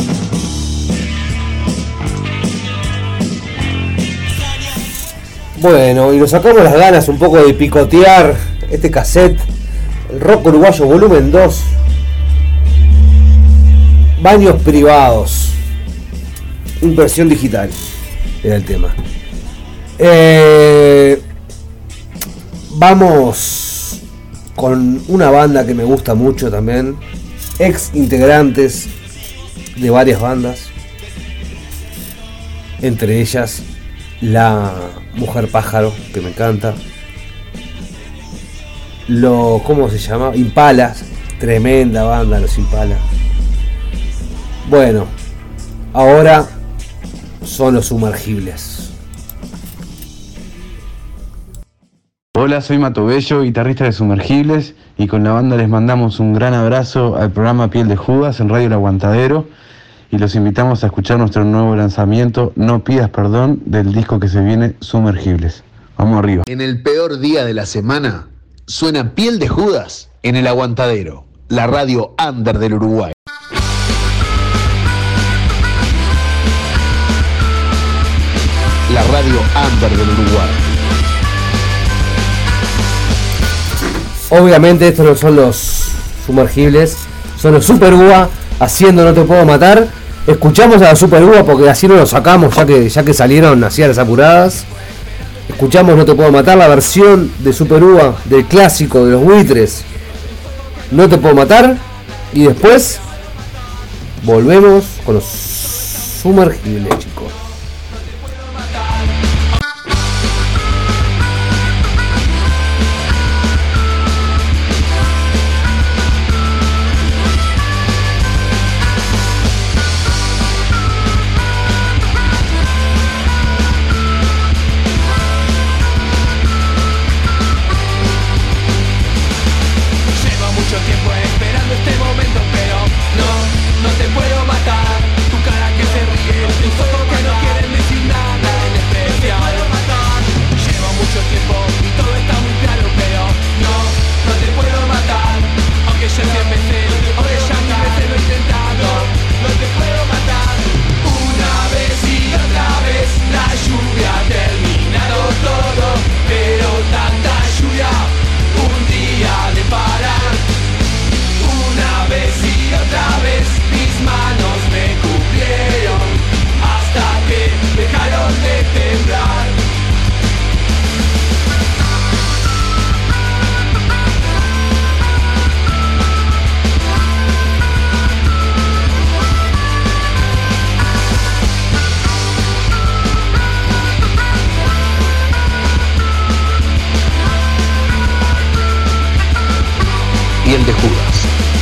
Bueno, y nos sacamos las ganas un poco de picotear este cassette, el rock uruguayo volumen 2, baños privados, impresión digital, era el tema. Vamos con una banda que me gusta mucho también, ex integrantes de varias bandas, entre ellas La Mujer Pájaro, que me encanta, ¿cómo se llama? Impala, tremenda banda los Impala. Bueno, ahora son los Sumergibles. Hola, soy Mato Bello, guitarrista de Sumergibles, y con la banda les mandamos un gran abrazo al programa Piel de Judas en Radio El Aguantadero, y los invitamos a escuchar nuestro nuevo lanzamiento, No Pidas Perdón, del disco que se viene, Sumergibles. Vamos arriba. En el peor día de la semana, suena Piel de Judas en el Aguantadero, la radio under del Uruguay. La radio under del Uruguay. Obviamente estos no son los Sumergibles, son los Super Uva haciendo No Te Puedo Matar. Escuchamos a la Super Uva porque así no los sacamos, ya que salieron así a las apuradas. Escuchamos No Te Puedo Matar, la versión de Super Uva del clásico de los Buitres, No Te Puedo Matar, y después volvemos con los Sumergibles, chicos. Piel de Judas.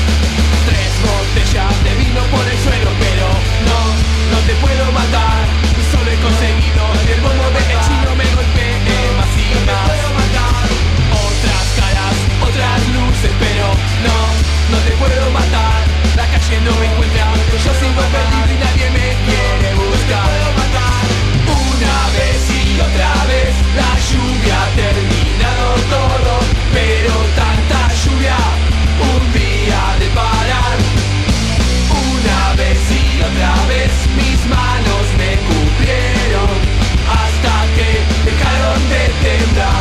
3 botellas de vino por el suelo, pero no te puedo matar. Solo he conseguido que el bombo de el chino me golpee más y más. Otras caras, otras luces, pero no te puedo matar. La calle no me encuentra, yo sigo perdido y nadie me quiere buscar. Una vez y otra vez la lluvia ha terminado todo, pero tanta lluvia un día de parar. Una vez y otra vez mis manos me cubrieron hasta que dejaron de temblar.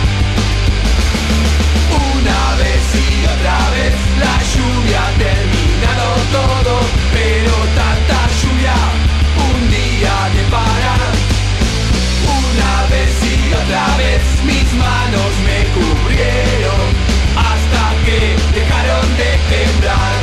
Una vez y otra vez la lluvia ha terminado todo, pero tanta lluvia un día de parar. Una vez y otra vez mis manos me cubrieron hasta que dejaron de temblar.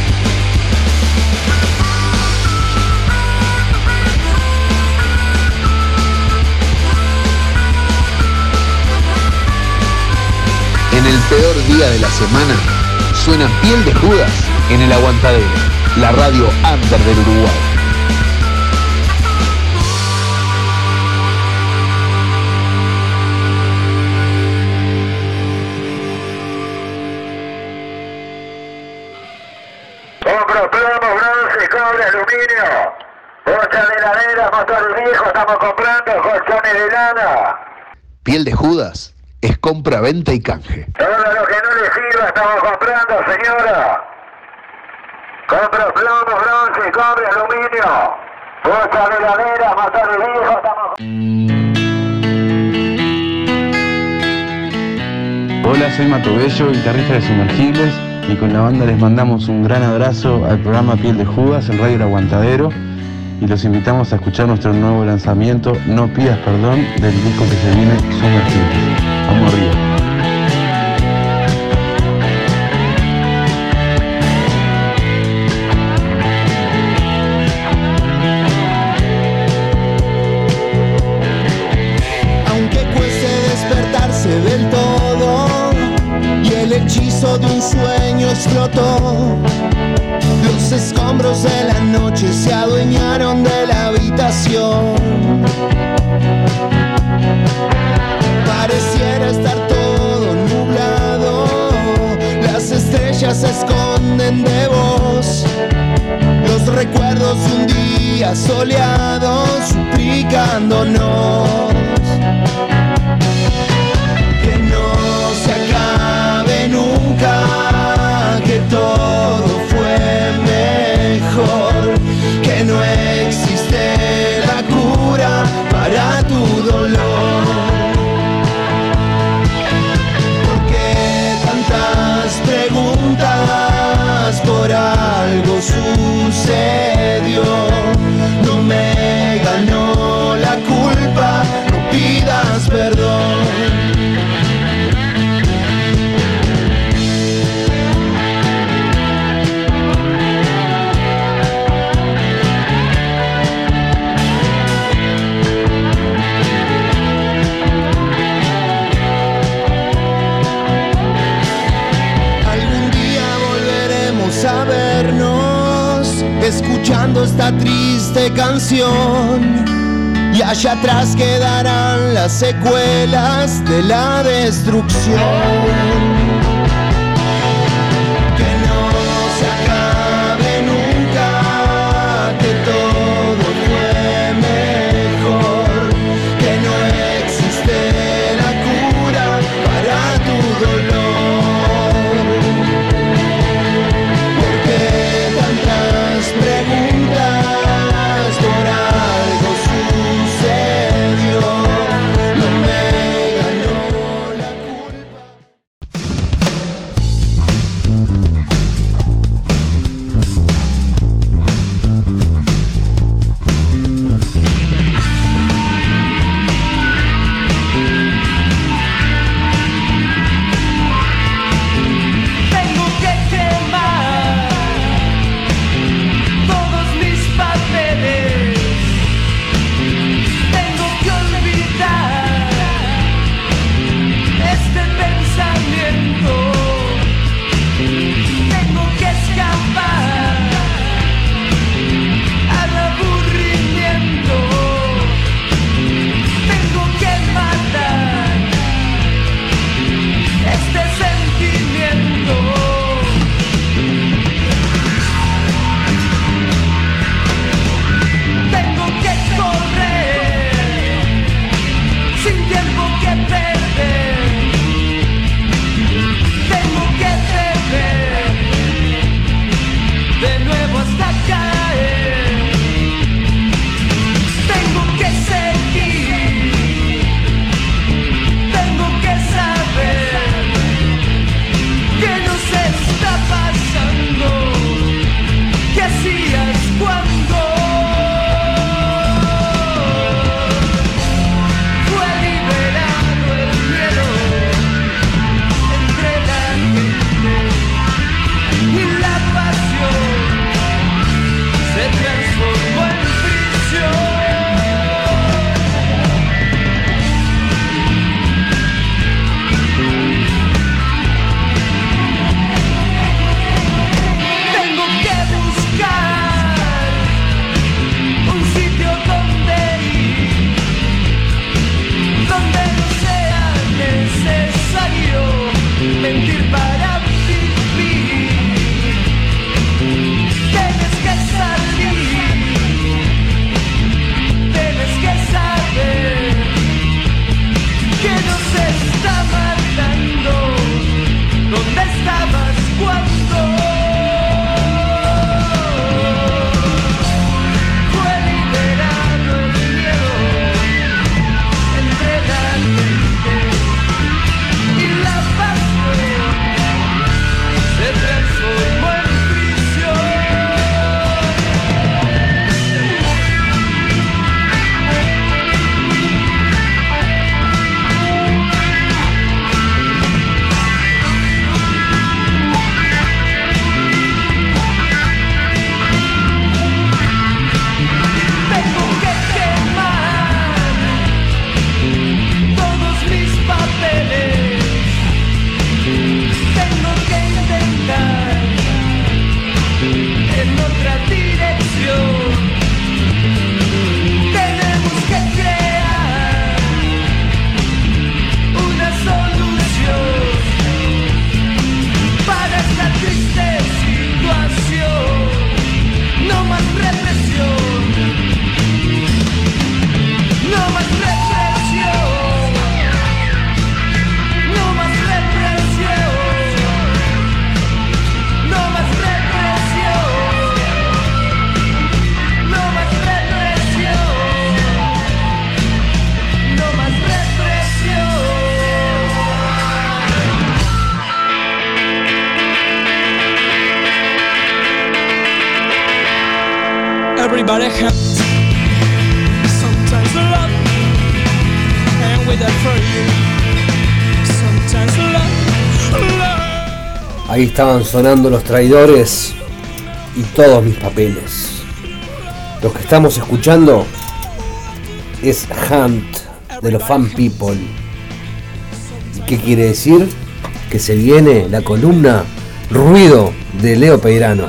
En el peor día de la semana, suena Piel de Judas en el Aguantadero, la radio under del Uruguay. Compro plomo, bronce, cobre, aluminio. 8 heladeras, motores viejos, estamos comprando colchones de lana. Piel de Judas es compra, venta y canje. Todo lo que no le sirva estamos comprando, señora. Compra plomo, bronce, cobre, aluminio. Bocha de heladera, motor de viejo, estamos... Hola, soy Mato Bello, guitarrista de Sumergibles, y con la banda les mandamos un gran abrazo al programa Piel de Judas en Radio El Aguantadero, y los invitamos a escuchar nuestro nuevo lanzamiento No Pidas Perdón, del disco que se viene, Sumergibles. Vamos arriba. Aunque cueste despertarse del todo y el hechizo de un sueño explotó, los escombros de la noche se adueñaron de la habitación. Pareciera estar todo nublado, las estrellas se esconden de vos, los recuerdos de un día soleado suplicándonos que no se acabe nunca, que todo fue mejor, que no existe la cura para tu dolor. Preguntas, por algo sucedió, no me ganó la culpa, no pidas perdón. A vernos, escuchando esta triste canción, y allá atrás quedarán las secuelas de la destrucción. Que no se acabe nunca, que todo fue mejor, que no existe la cura para tu dolor. Preguntas, por algo sucedió, no me ganó la culpa. otra dirección. Tenemos que crear una solución para esta triste situación. No más represión, no más represión, no más represión, no más represión, no más represión, no más represión. Everybody hurts, sometimes love, and with that for you, sometimes love. Ahí estaban sonando Los Traidores y Todos Mis Papeles. Lo que estamos escuchando es Hunt de los Fan People. ¿Qué quiere decir? Que se viene la columna Ruido de Leo Peirano.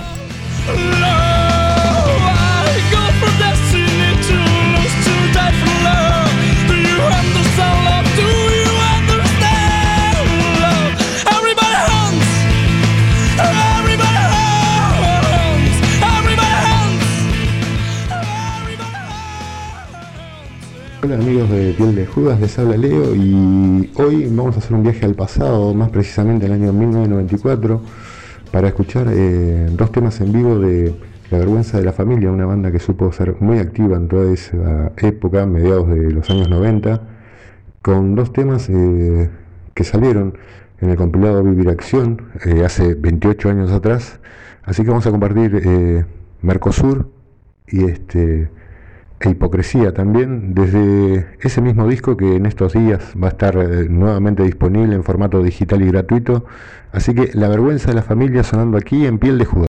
Hola amigos de Piel de Judas, les habla Leo y hoy vamos a hacer un viaje al pasado, más precisamente al año 1994, para escuchar dos temas en vivo de La Vergüenza de la Familia, una banda que supo ser muy activa en toda esa época, mediados de los años 90, con dos temas que salieron en el compilado Vivir Acción hace 28 años atrás. Así que vamos a compartir Mercosur y Hipocresía también, desde ese mismo disco que en estos días va a estar nuevamente disponible en formato digital y gratuito. Así que La Vergüenza de la Familia sonando aquí en Piel de Judas.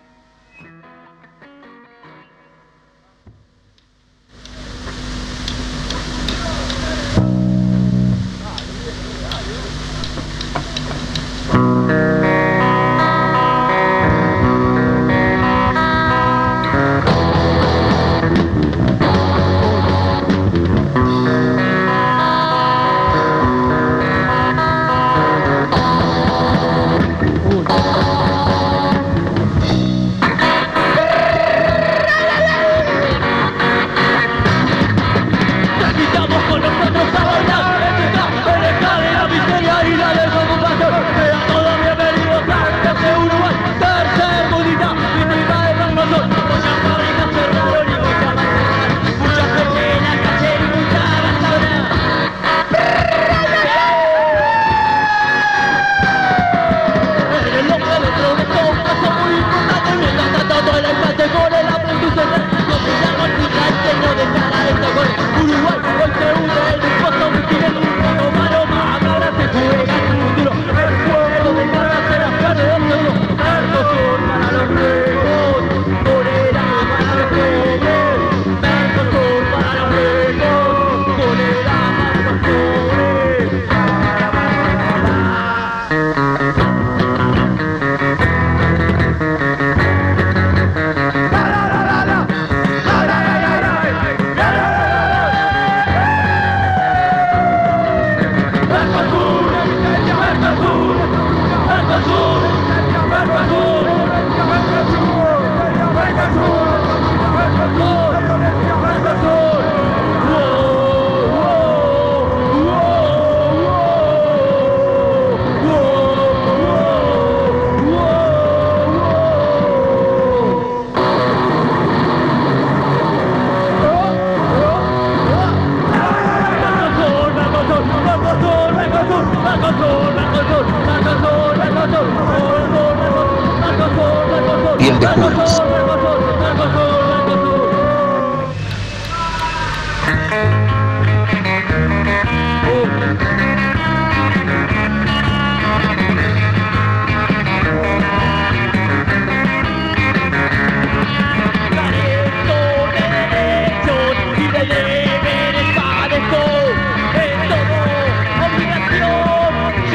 Piel de Judas.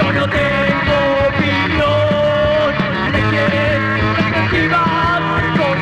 Con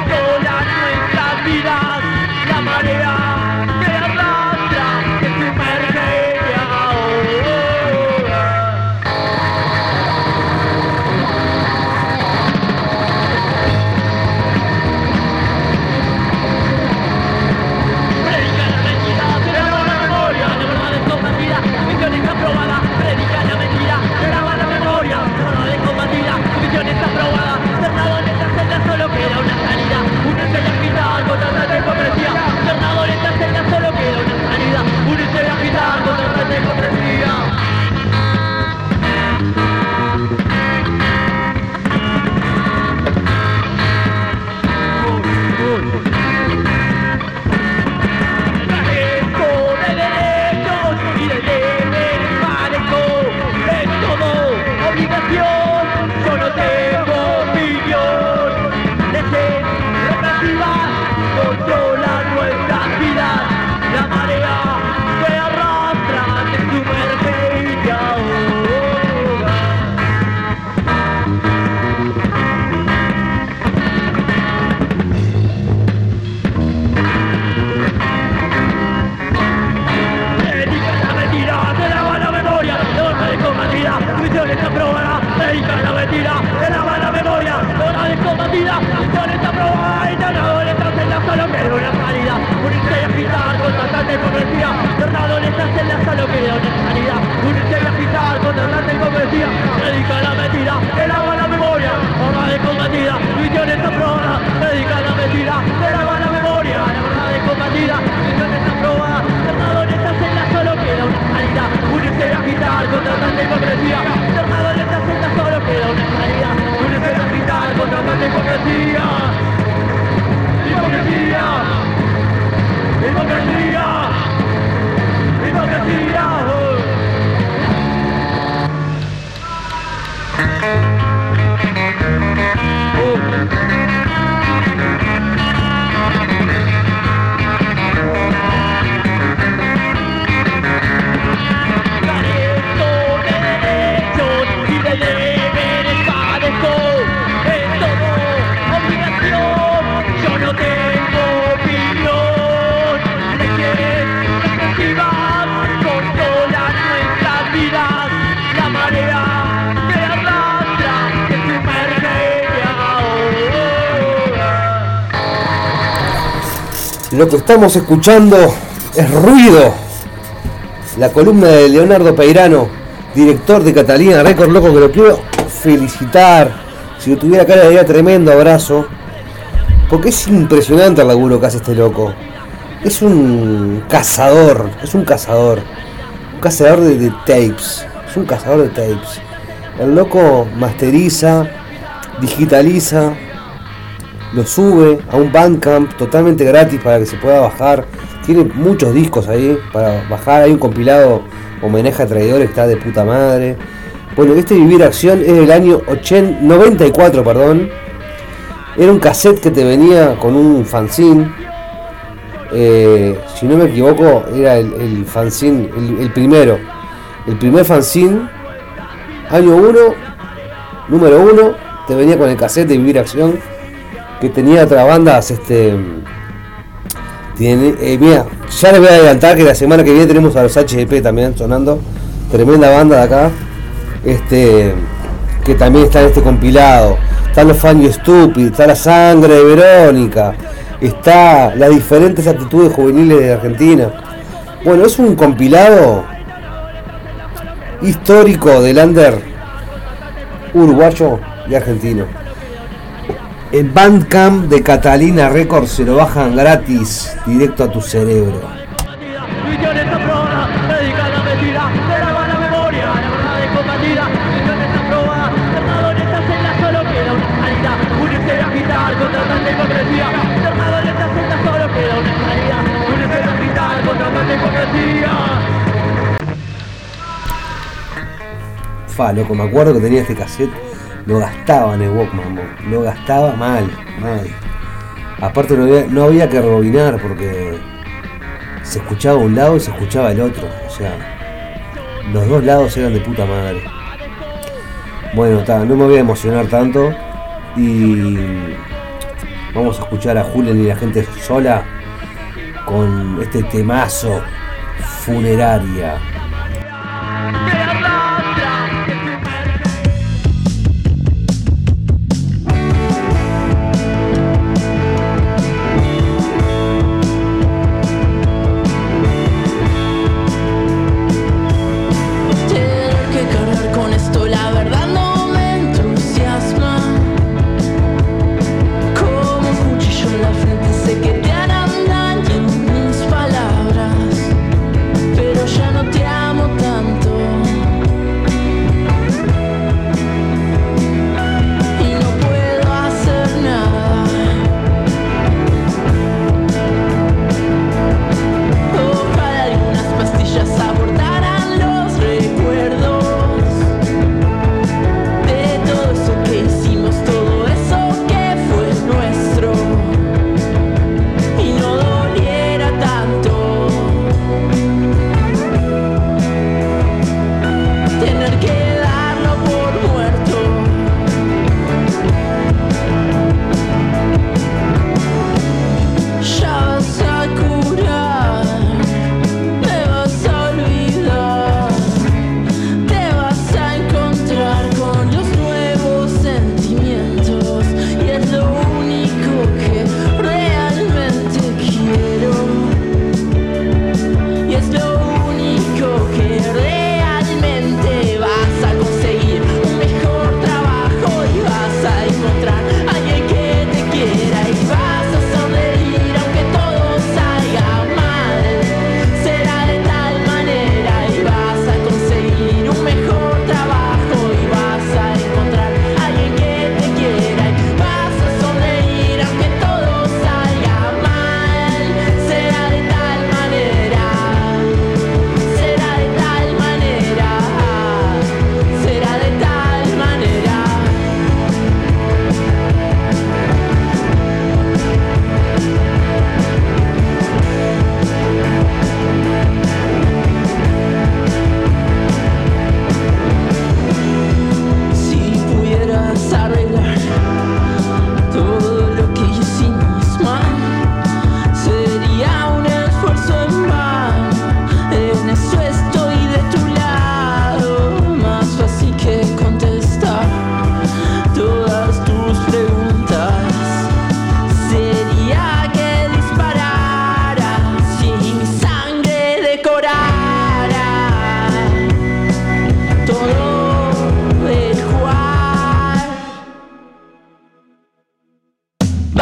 queda una salida. Unirse y agitar contra tanta hipocresía. Predica la mentira, el agua la memoria. Horda de combatida, visiones aprobadas. Predica la mentira, el agua la memoria. La verdad de combatida, visiones aprobadas. Internado en esta celda solo queda una salida. Unirse y agitar contra tanta hipocresía. Internado en esta celda solo queda una salida. Unirse y agitar contra tanta hipocresía. Hipocresía. Hipocresía. Hipocresía. Lo que estamos escuchando es Ruido, la columna de Leonardo Peirano, director de Catalina Records, loco, que lo quiero felicitar. Si lo tuviera acá le daría tremendo abrazo, porque es impresionante el laburo que hace este loco. Es un cazador de tapes, es un cazador de tapes. El loco masteriza, digitaliza, lo sube a un Bandcamp totalmente gratis para que se pueda bajar. Tiene muchos discos ahí para bajar. Hay un compilado homenaje a traidores que está de puta madre. Bueno, este Vivir Acción es del año 94, perdón. Era un cassette que te venía con un fanzine. Si no me equivoco, era el fanzine, el primero. El primer fanzine, año 1, número 1, te venía con el cassette de Vivir Acción, que tenía otras bandas. Mira, ya les voy a adelantar que la semana que viene tenemos a los HDP también sonando, tremenda banda de acá, que también está en este compilado. Están los Fan You Stupid, está La Sangre de Verónica, está las diferentes actitudes juveniles de Argentina. Bueno, es un compilado histórico del under uruguayo y argentino. El Bandcamp de Catalina Records se lo bajan gratis, directo a tu cerebro. Visiones aprobadas, predica la mentira, el agua la memoria, la verdad de combatida. Visiones aprobadas, internado en esta celda solo queda una salida. Unirse y agitar contra tanta hipocresía. Internado en esta celda solo queda una salida. Unirse y agitar contra tanta hipocresía. Loco, me acuerdo que tenía este cassette. Lo gastaba en el Walkman, lo gastaba mal. Aparte no había que rebobinar porque se escuchaba un lado y se escuchaba el otro. O sea, los dos lados eran de puta madre. Bueno, no me voy a emocionar tanto. Y vamos a escuchar a Julián y la gente sola con este temazo, Funeraria. Pero ya no te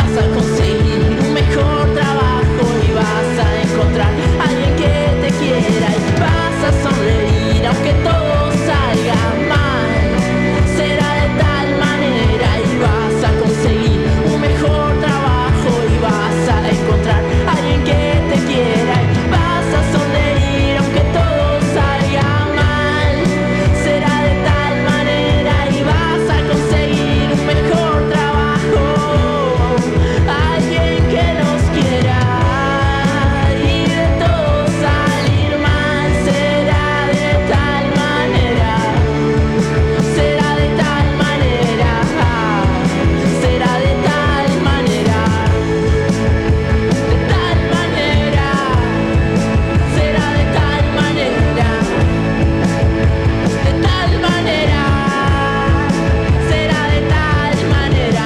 vas a conseguir un mejor trabajo y vas a encontrar a alguien que te quiera y vas a sonreír aunque todo salga mal. Será de tal manera y vas a conseguir un mejor trabajo y vas a encontrar a alguien que te quiera y vas a sonreír aunque todo salga mal. Será de tal manera y vas a conseguir un mejor trabajo, alguien que nos quiera y de todo salir mal. Será de tal manera, será de tal manera, será de tal manera, de tal manera, será de tal manera, de tal manera, será de tal manera.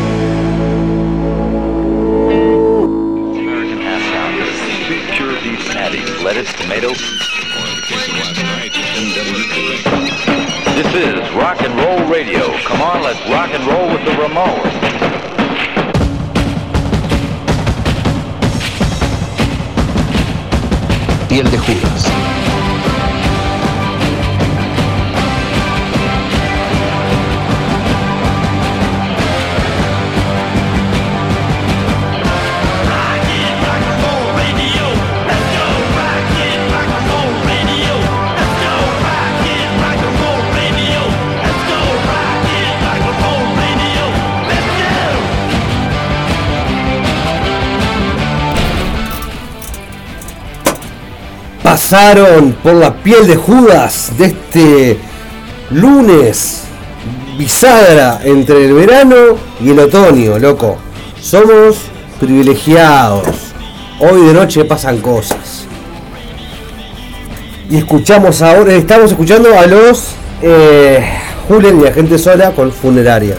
American half pounder, pure beef patties, lettuce, tomatoes. This is rock and roll radio. Come on, let's rock and roll with the Ramones. Piel de Judas. Pasaron por la piel de Judas de este lunes, bisagra entre el verano y el otoño, loco. Somos privilegiados. Hoy de noche pasan cosas. Y escuchamos ahora, estamos escuchando a los Julen y a Gente Sola con Funeraria.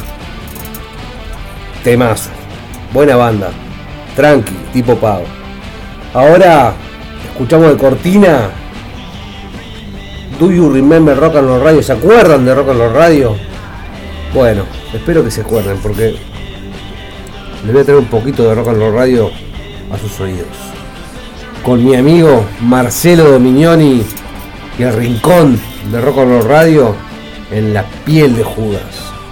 Temazo. Buena banda. Tranqui, tipo pago. Ahora escuchamos de cortina Do You Remember Rock and Roll Radio. ¿Se acuerdan de Rock and Roll Radio? Bueno, espero que se acuerden porque les voy a traer un poquito de Rock and Roll Radio a sus oídos. Con mi amigo Marcelo Dominioni y el rincón de Rock and Roll Radio en la piel de Judas.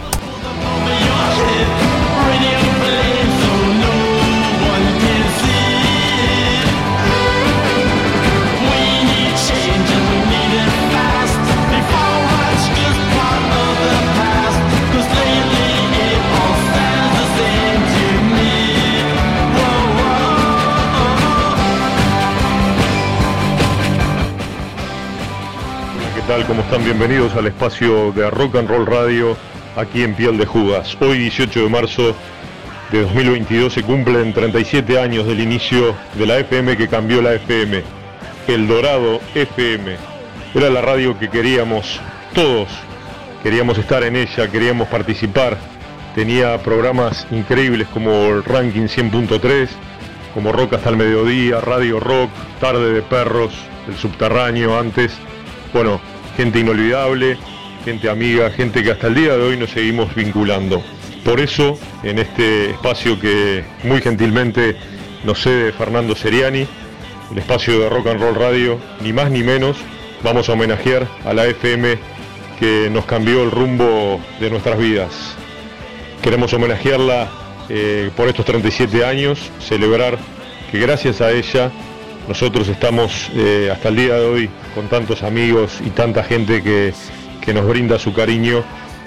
¿Cómo están? Bienvenidos al espacio de Rock and Roll Radio aquí en Piel de Judas. Hoy 18 de marzo de 2022 se cumplen 37 años del inicio de la FM que cambió la FM. El Dorado FM. Era la radio que queríamos todos. Queríamos estar en ella, queríamos participar. Tenía programas increíbles como el Ranking 100.3, como Rock hasta el mediodía, Radio Rock, Tarde de Perros, El Subterráneo antes. Bueno, gente inolvidable, gente amiga, gente que hasta el día de hoy nos seguimos vinculando. Por eso, en este espacio que muy gentilmente nos cede Fernando Seriani, el espacio de Rock and Roll Radio, ni más ni menos, vamos a homenajear a la FM que nos cambió el rumbo de nuestras vidas. Queremos homenajearla por estos 37 años, celebrar que gracias a ella nosotros estamos hasta el día de hoy con tantos amigos y tanta gente que nos brinda su cariño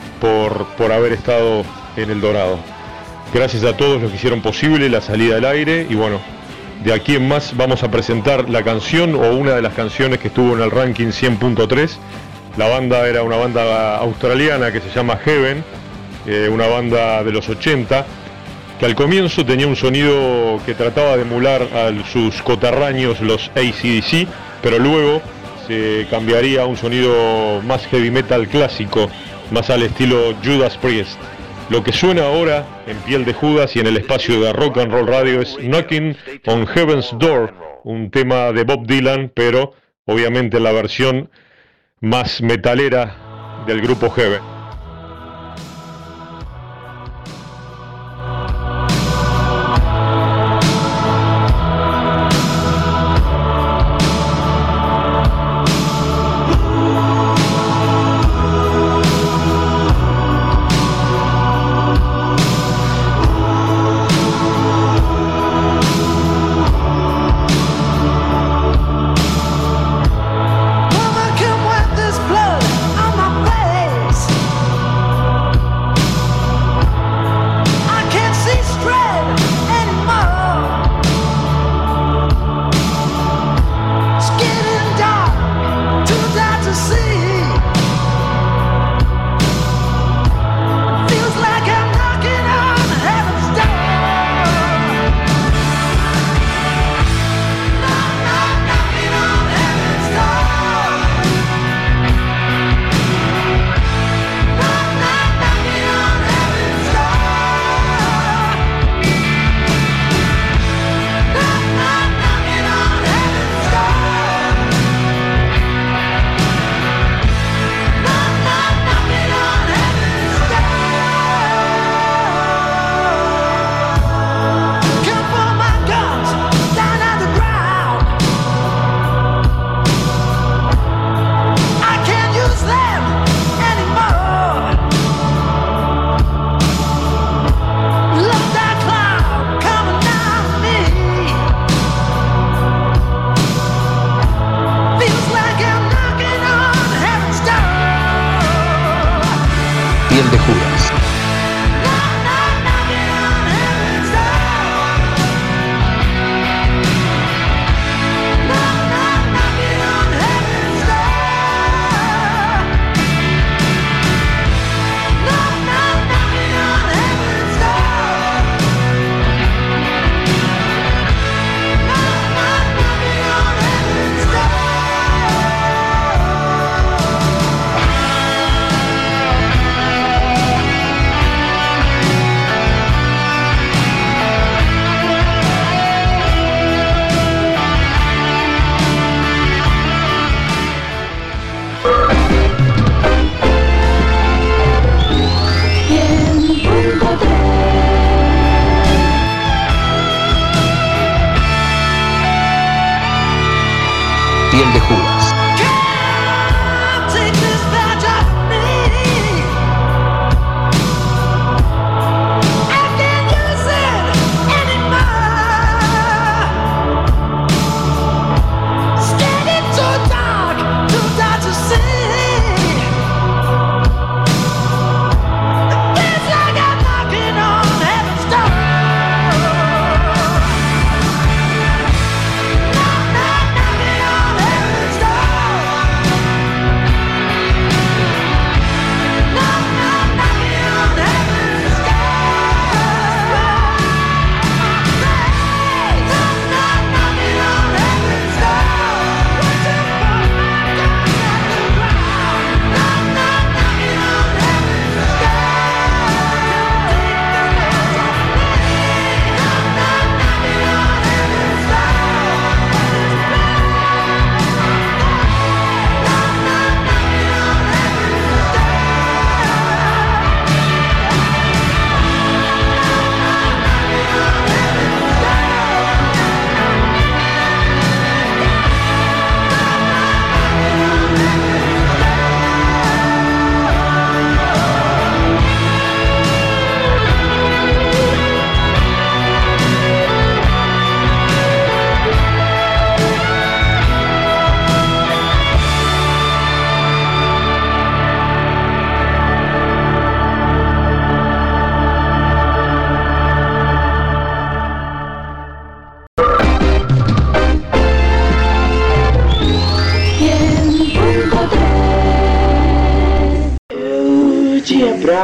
por haber estado en El Dorado. Gracias a todos los que hicieron posible la salida al aire y bueno, de aquí en más vamos a presentar la canción o una de las canciones que estuvo en el Ranking 100.3. La banda era una banda australiana que se llama Heaven, una banda de los 80, que al comienzo tenía un sonido que trataba de emular a sus coterráneos, los AC/DC, pero luego se cambiaría a un sonido más heavy metal clásico, más al estilo Judas Priest. Lo que suena ahora en Piel de Judas y en el espacio de Rock and Roll Radio es Knocking on Heaven's Door, un tema de Bob Dylan, pero obviamente la versión más metalera del grupo Heaven.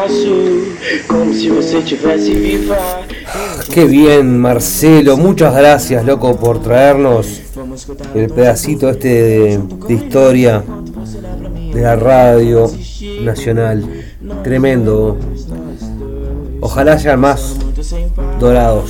abraço, como se você tivesse viva. Qué bien, Marcelo, muchas gracias, loco, por traernos el pedacito este de historia de la radio nacional. Tremendo. Ojalá sean más dourados.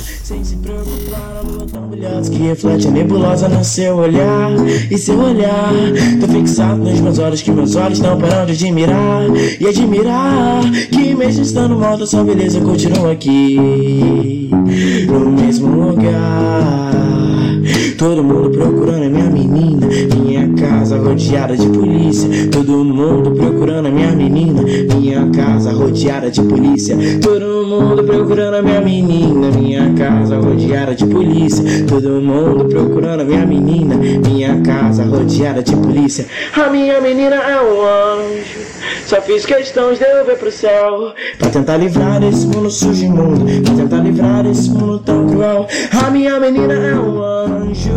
Que reflete a nebulosa no seu olhar. E seu olhar tá fixado nos meus olhos, que meus olhos não param de admirar. E admirar que mesmo estando mal, sua beleza continua aqui no mesmo lugar. Todo mundo procurando a minha menina, minha casa rodeada de polícia. Todo mundo procurando a minha menina, minha casa rodeada de polícia. Todo mundo procurando a minha menina, minha casa rodeada de polícia. Todo mundo procurando a minha menina, minha casa rodeada de polícia. A minha menina é um anjo, só fiz questão de eu ver pro céu, pra tentar livrar desse mundo sujo e imundo, pra tentar livrar desse mundo tão cruel. A minha menina é um anjo.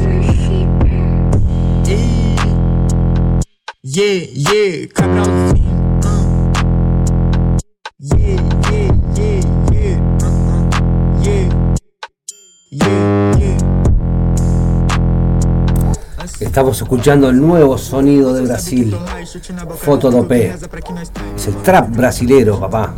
Yeah, yeah, Cabralzinho. Yeah, yeah, yeah, yeah. Yeah, yeah, yeah. Estamos escuchando el nuevo sonido de Brasil, Fotodopé. Es el trap brasilero, papá.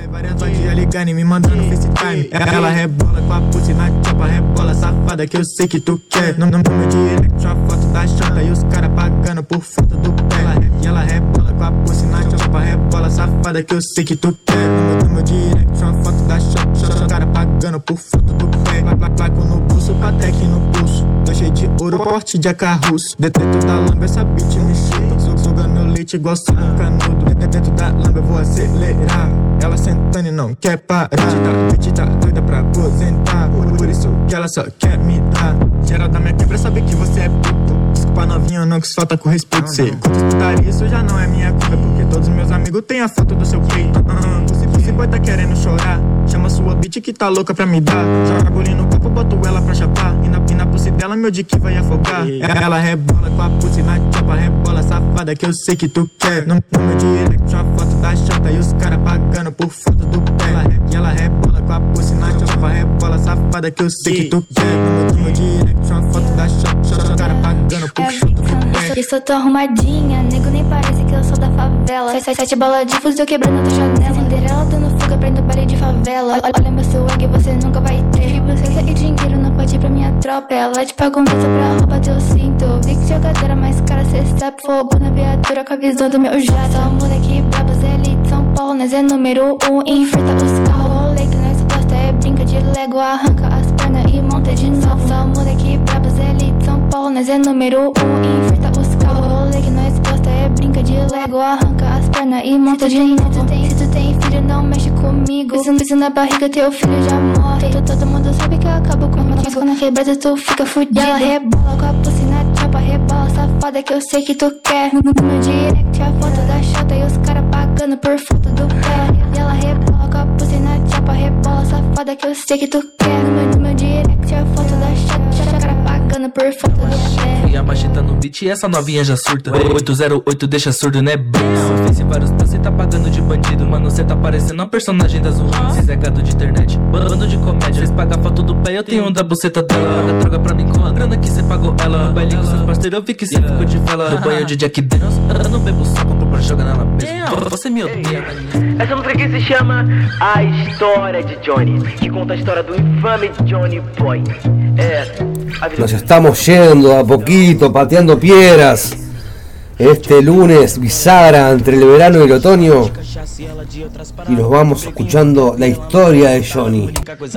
Ligando e me mandando FaceTime. Ela rebola com a pussy na chapa, rebola safada que eu sei que tu quer. No meu direct uma foto da chapa e os cara pagando por foto do pé. E ela rebola com a pussy na chapa, rebola safada que eu sei que tu quer. No meu direct uma foto da chapa, os cara pagando por foto do pé. Placo no pulso, Patek no pulso. Tô cheio de ouro, porte de acarruço. Dentro da lamba essa bitch me chuta. Sugando meu leite igual suco canudo. Dentro da lamba eu vou acelerar. Ela sentando e não quer parar. Bitch tá doida pra aposentar. Por isso que ela só quer me dar. Geral da minha quebra sabe que você é puto. Desculpa novinha, não que isso falta com respeito. Cê curte putaria, isso já não é minha culpa. Porque todos meus amigos têm a foto do seu peito. Esse boy tá querendo chorar. Chama sua bitch que tá louca pra me dar. Joga bolinho no copo, boto ela pra chapar. E na pussy dela meu dick vai afogar. Ela rebola com a pussy na chapa, rebola safada que eu sei que tu quer. No meu direct uma foto da chata e os cara pagando por foto do pé. E ela rebola com a pussy na chapa, rebola safada que eu sei que tu quer. No meu direct uma foto da chata, os cara pagando por foto do pé. Eu sou tão arrumadinha, nego nem parece que eu sou da favela. Sete bola de fuzil quebrando tua janela. Cinderela dando fuga, prendo baile de favela. Olha meu swag, você nunca vai ter. Você e dinheiro não pode ir pra minha tropa. Ela te paga um beijo pra roubar teu cinto. Vi que jogadora mais cara, cê sabe. Fogo na viatura com a visão do meu jato. Só moleque brabo, Zé de São Paulo. Nós é número 1, enfrenta os carros. Rolê que nós gosta é brinca de Lego. Arranca as pernas e monta de novo. Só moleque brabo, Zé de São Paulo. Nós é número 1, enfrenta os carros. Rolê que nós gosta é brinca de Lego. Arranca as pernas e monta de novo. Se tu tem filho, não mexe comigo. Isso na barriga, teu filho já morre. Todo mundo sabe que eu acabo comigo. Mas quando quebrada tu fica fudido. E ela rebola com a pussy na chapa, rebola safada que eu sei que tu quer. No meu direct a foto da chata e os cara pagando por foto do pé. E ela rebola com a pussy na chapa, rebola safada que eu sei que tu quer. No meu direct a foto da chata, os cara pagando por foto do pé. E a machita no beat e essa novinha já surta. 808 deixa surdo, né? Fez vários passos e tá pagando de bandido. Mano, cê tá parecendo um personagem das ruins. Cês é gado de internet, bando de comédia. Fez pagar foto do pé, eu tenho um da buceta dela. Paga droga pra mim com a grana que cê pagou ela. No baile com seus parceiros eu vi que cê ficou de vela. No banho de Jack Daniels, eu não bebo só, compro pra jogar nela mesmo. Você me odeia. Essa música aqui se chama A História de Johnny, que conta a história do infame Johnny Boy. Nos estamos yendo a poquito, pateando piedras. Este lunes, bisagra entre el verano y el otoño. Y nos vamos escuchando la historia de Johnny.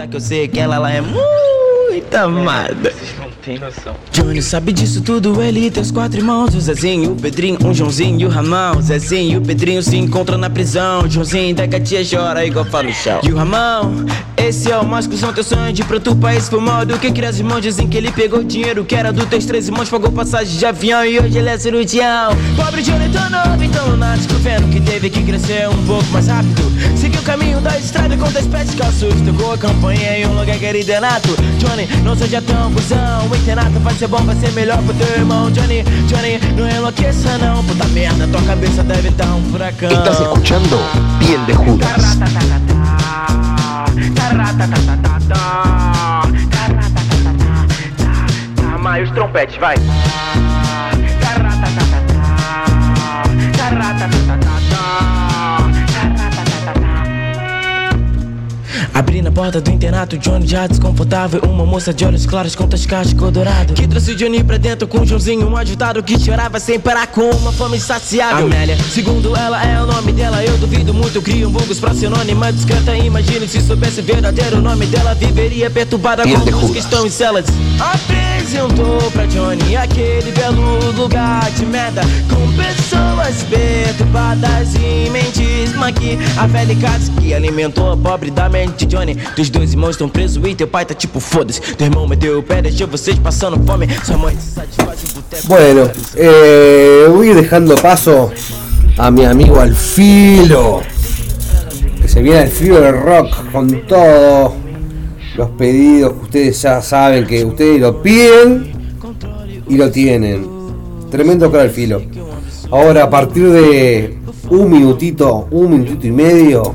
Muita amada. Johnny sabe disso tudo, ele tem os 4 irmãos. O Zezinho, o Pedrinho, o Joãozinho e o Ramão. O Zezinho e o Pedrinho se encontram na prisão. O Joãozinho da gatinha chora igual fala no chão. E o Ramão, esse é o mais cuzão, teu sonho de ir pro teu país foi mal do que criar os irmãos. Dizem que ele pegou dinheiro que era dos teus 3 irmãos, pagou passagem de avião e hoje ele é cirurgião. Pobre Johnny tão novo, então lunático, vendo que teve que crescer um pouco mais rápido. Seguiu o caminho da estrada contra as pedras calços. Tocou a campanha em um lugar querido Renato. Johnny, não seja tão cuzão, internato vai ser bom, vai ser melhor pro teu irmão. Johnny, Johnny, não enlouqueça não. Puta merda, tua cabeça deve estar um furacão. Estás escuchando Piel de Judas. Mais os trompetes, vai. Abrindo a porta do internato, Johnny já desconfortável. Uma moça de olhos claros com tascas de cor dourado que trouxe Johnny pra dentro com um Joãozinho, um agitado que chorava sem parar com uma fome insaciável. Amélia, segundo ela é o nome dela. Eu duvido muito, criam vulgos pra sinônima discreta. Imagine se soubesse o verdadeiro nome dela. Viveria perturbada com os que estão em celas. Apresentou pra Johnny aquele belo lugar de merda, com pessoas perturbadas e mentes. Maqui, a velha casa que alimentou a pobre da mente. Johnny, teus dois irmãos estão presos e teu pai tá tipo foda-se. Teu irmão meteu o pé, deixou vocês passando fome. Sua mãe se satisfaz em boteco. Bueno, voy dejando paso a mi amigo Alfilo, que se viene al filo del rock con todos los pedidos que ustedes ya saben que ustedes lo piden y lo tienen. Tremendo cara Alfilo. Ahora a partir de un minutito y medio,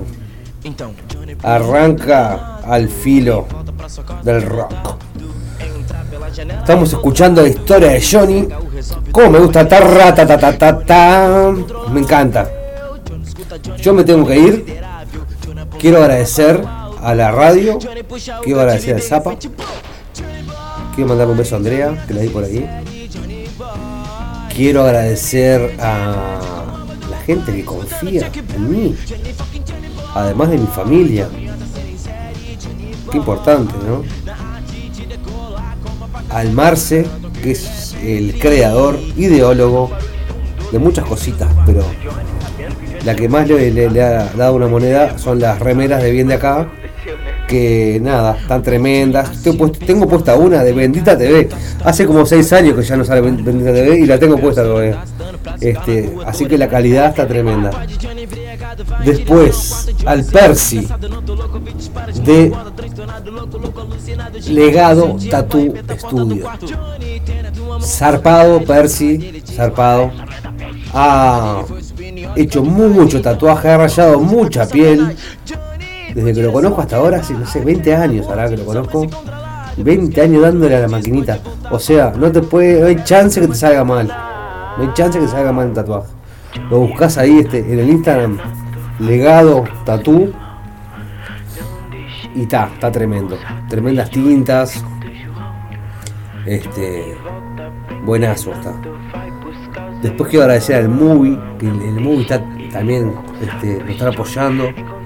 arranca Al Filo del Rock. Estamos escuchando la historia de Johnny. Como me gusta, me encanta. Yo me tengo que ir. Quiero agradecer a la radio. Quiero agradecer al Zapa. Quiero mandar un beso a Andrea, que la vi por ahí. Quiero agradecer a la gente que confía en mí, además de mi familia. Qué importante, ¿no? Al Marce, que es el creador, ideólogo de muchas cositas, pero la que más le ha dado una moneda son las remeras de Bien de Acá, que nada, están tremendas. Tengo puesta una de Bendita TV. Hace como 6 años que ya no sale Bendita TV y la tengo puesta todavía. Así que la calidad está tremenda. Después, al Percy de Legado Tattoo Studio. Zarpado, Percy, zarpado. Ha hecho mucho tatuaje, ha rayado mucha piel. Desde que lo conozco hasta ahora, no sé, 20 años ahora que lo conozco. 20 años dándole a la maquinita. O sea, no hay chance que te salga mal. No hay chance que te salga mal el tatuaje. Lo buscas ahí en el Instagram, Legado Tattoo. Y está tremendo. Tremendas tintas. Buenazo está. Después quiero agradecer al Movie, que el Movie está también lo está apoyando.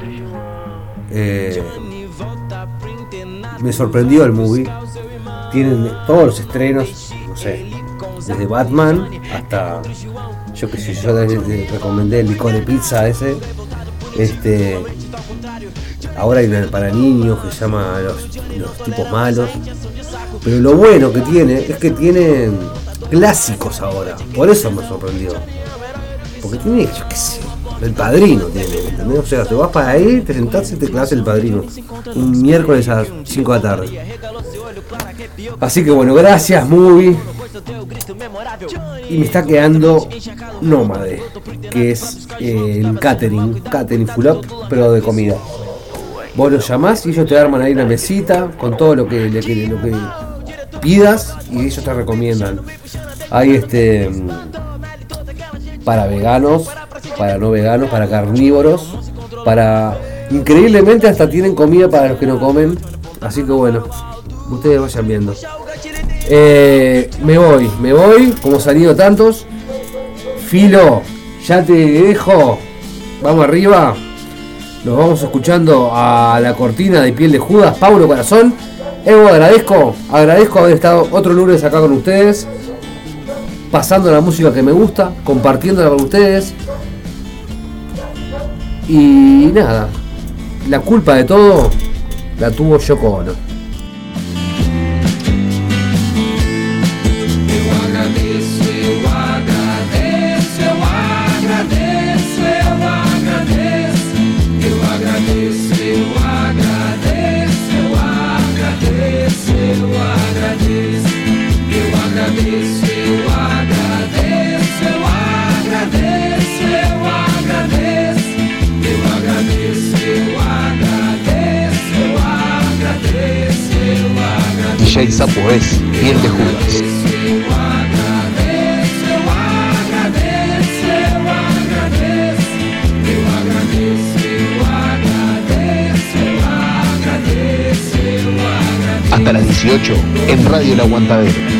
Me sorprendió el Movie. Tienen todos los estrenos, no sé, desde Batman hasta, yo que sé, yo les recomendé el licor de pizza ese. Ahora hay una para niños que se llama los tipos malos. Pero lo bueno que tiene es que tienen clásicos ahora. Por eso me sorprendió. Porque tiene, yo qué sé, El Padrino tiene, ¿entendés? O sea, te vas para ahí, te sentás y te clavas El Padrino. Un miércoles a las 5 de la tarde. Así que bueno, gracias Movie. Y me está quedando Nómade, que es el catering full up, pero de comida. Vos los llamás y ellos te arman ahí una mesita con todo lo que pidas y ellos te recomiendan. Hay para veganos, para no veganos, para carnívoros, increíblemente hasta tienen comida para los que no comen. Así que bueno, ustedes vayan viendo. Me voy, como salido tantos. Filo, ya te dejo. Vamos arriba. Nos vamos escuchando a la cortina de Piel de Judas, Paulo Corazón. Evo, agradezco haber estado otro lunes acá con ustedes, pasando la música que me gusta, compartiéndola con ustedes. Y nada, la culpa de todo la tuvo Yoko Ono. Eu agradeço. DJ Sapo es Piel de Judas. Hasta las 18 en Radio El Aguantadero.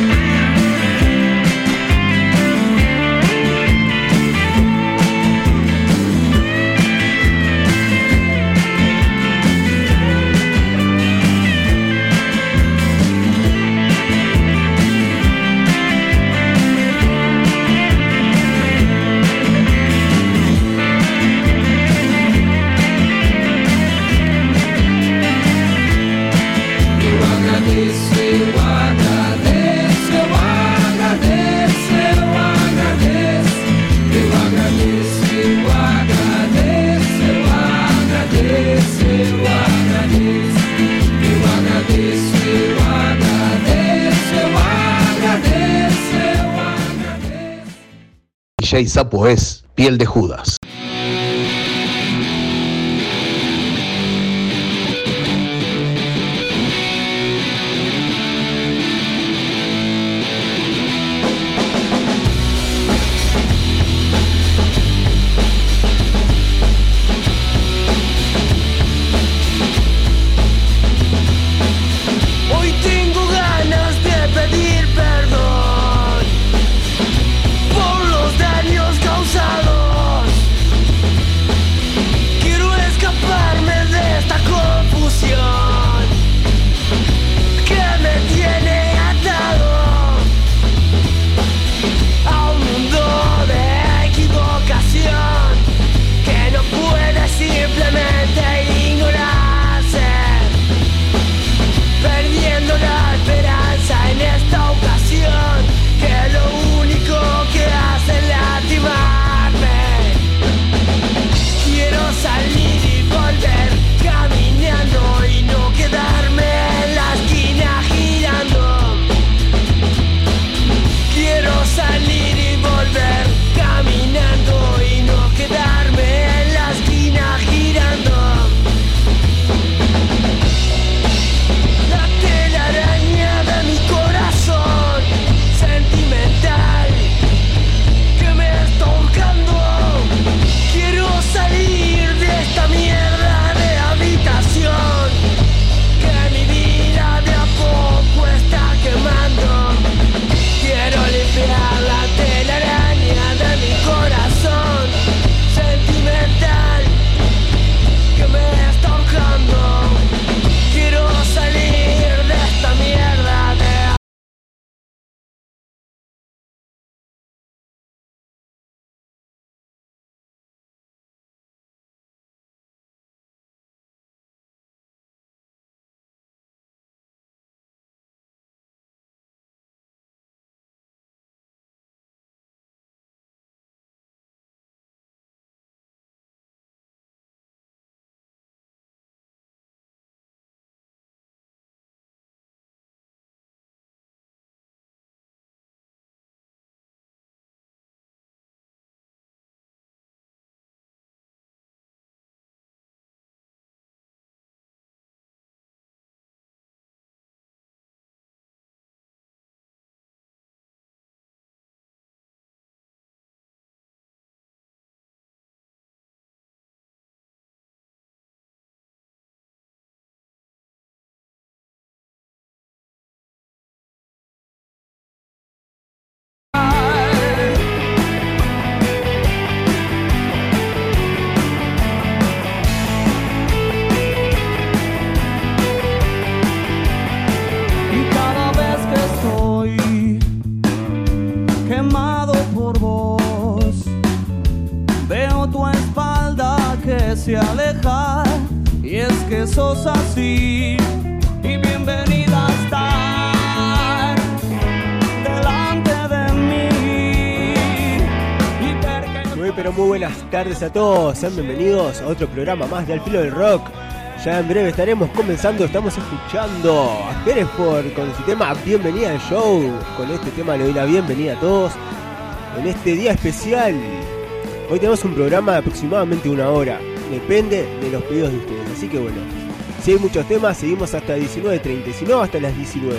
DJ Sapo es Piel de Judas. Hoy tengo ganas de pedir perdón por los daños causados. Quiero escaparme de esta confusión que me tiene atado a un mundo de equivocación que no puede simplemente ignorarse, perdiendo la esperanza en esta ocasión, que lo único que hace es lastimarme. Quiero salir y volver caminando y no quedarme en la esquina girando. Quiero salir y volver caminando y no quedarme en la esquina girando. La telaraña de mi corazón sentimental que me está ahorcando. Quiero salir de esta mierda de habitación que mi vida de a poco está quemando. Quiero limpiar la telaraña de mi corazón sentimental que me está ahorcando. Quiero salir de esta mierda de y cada vez que estoy quemado por vos, veo tu espalda que se aleja, y es que sos así, y bienvenida a estar delante de mí. Muy pero muy buenas tardes a todos, sean bienvenidos a otro programa más de Al Filo del Rock. Ya en breve estaremos comenzando, estamos escuchando a Hereford con su tema Bienvenida al Show. Con este tema le doy la bienvenida a todos en este día especial. Hoy tenemos un programa de aproximadamente 1 hora, depende de los pedidos de ustedes, así que bueno, Si hay muchos temas, seguimos hasta 19:30, si no, hasta las 19.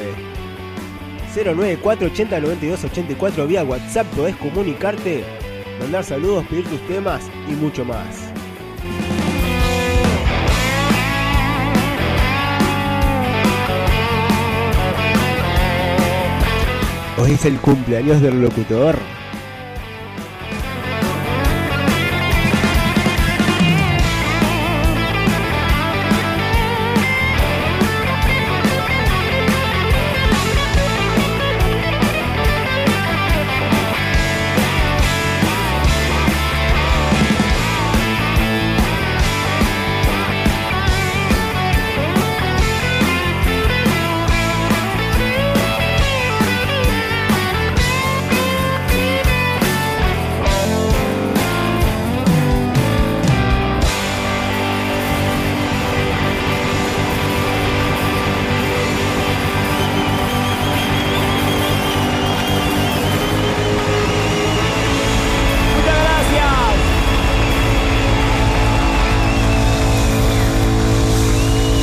094-80-92-84 vía WhatsApp, podés comunicarte, mandar saludos, pedir tus temas y mucho más. Hoy es el cumpleaños del locutor.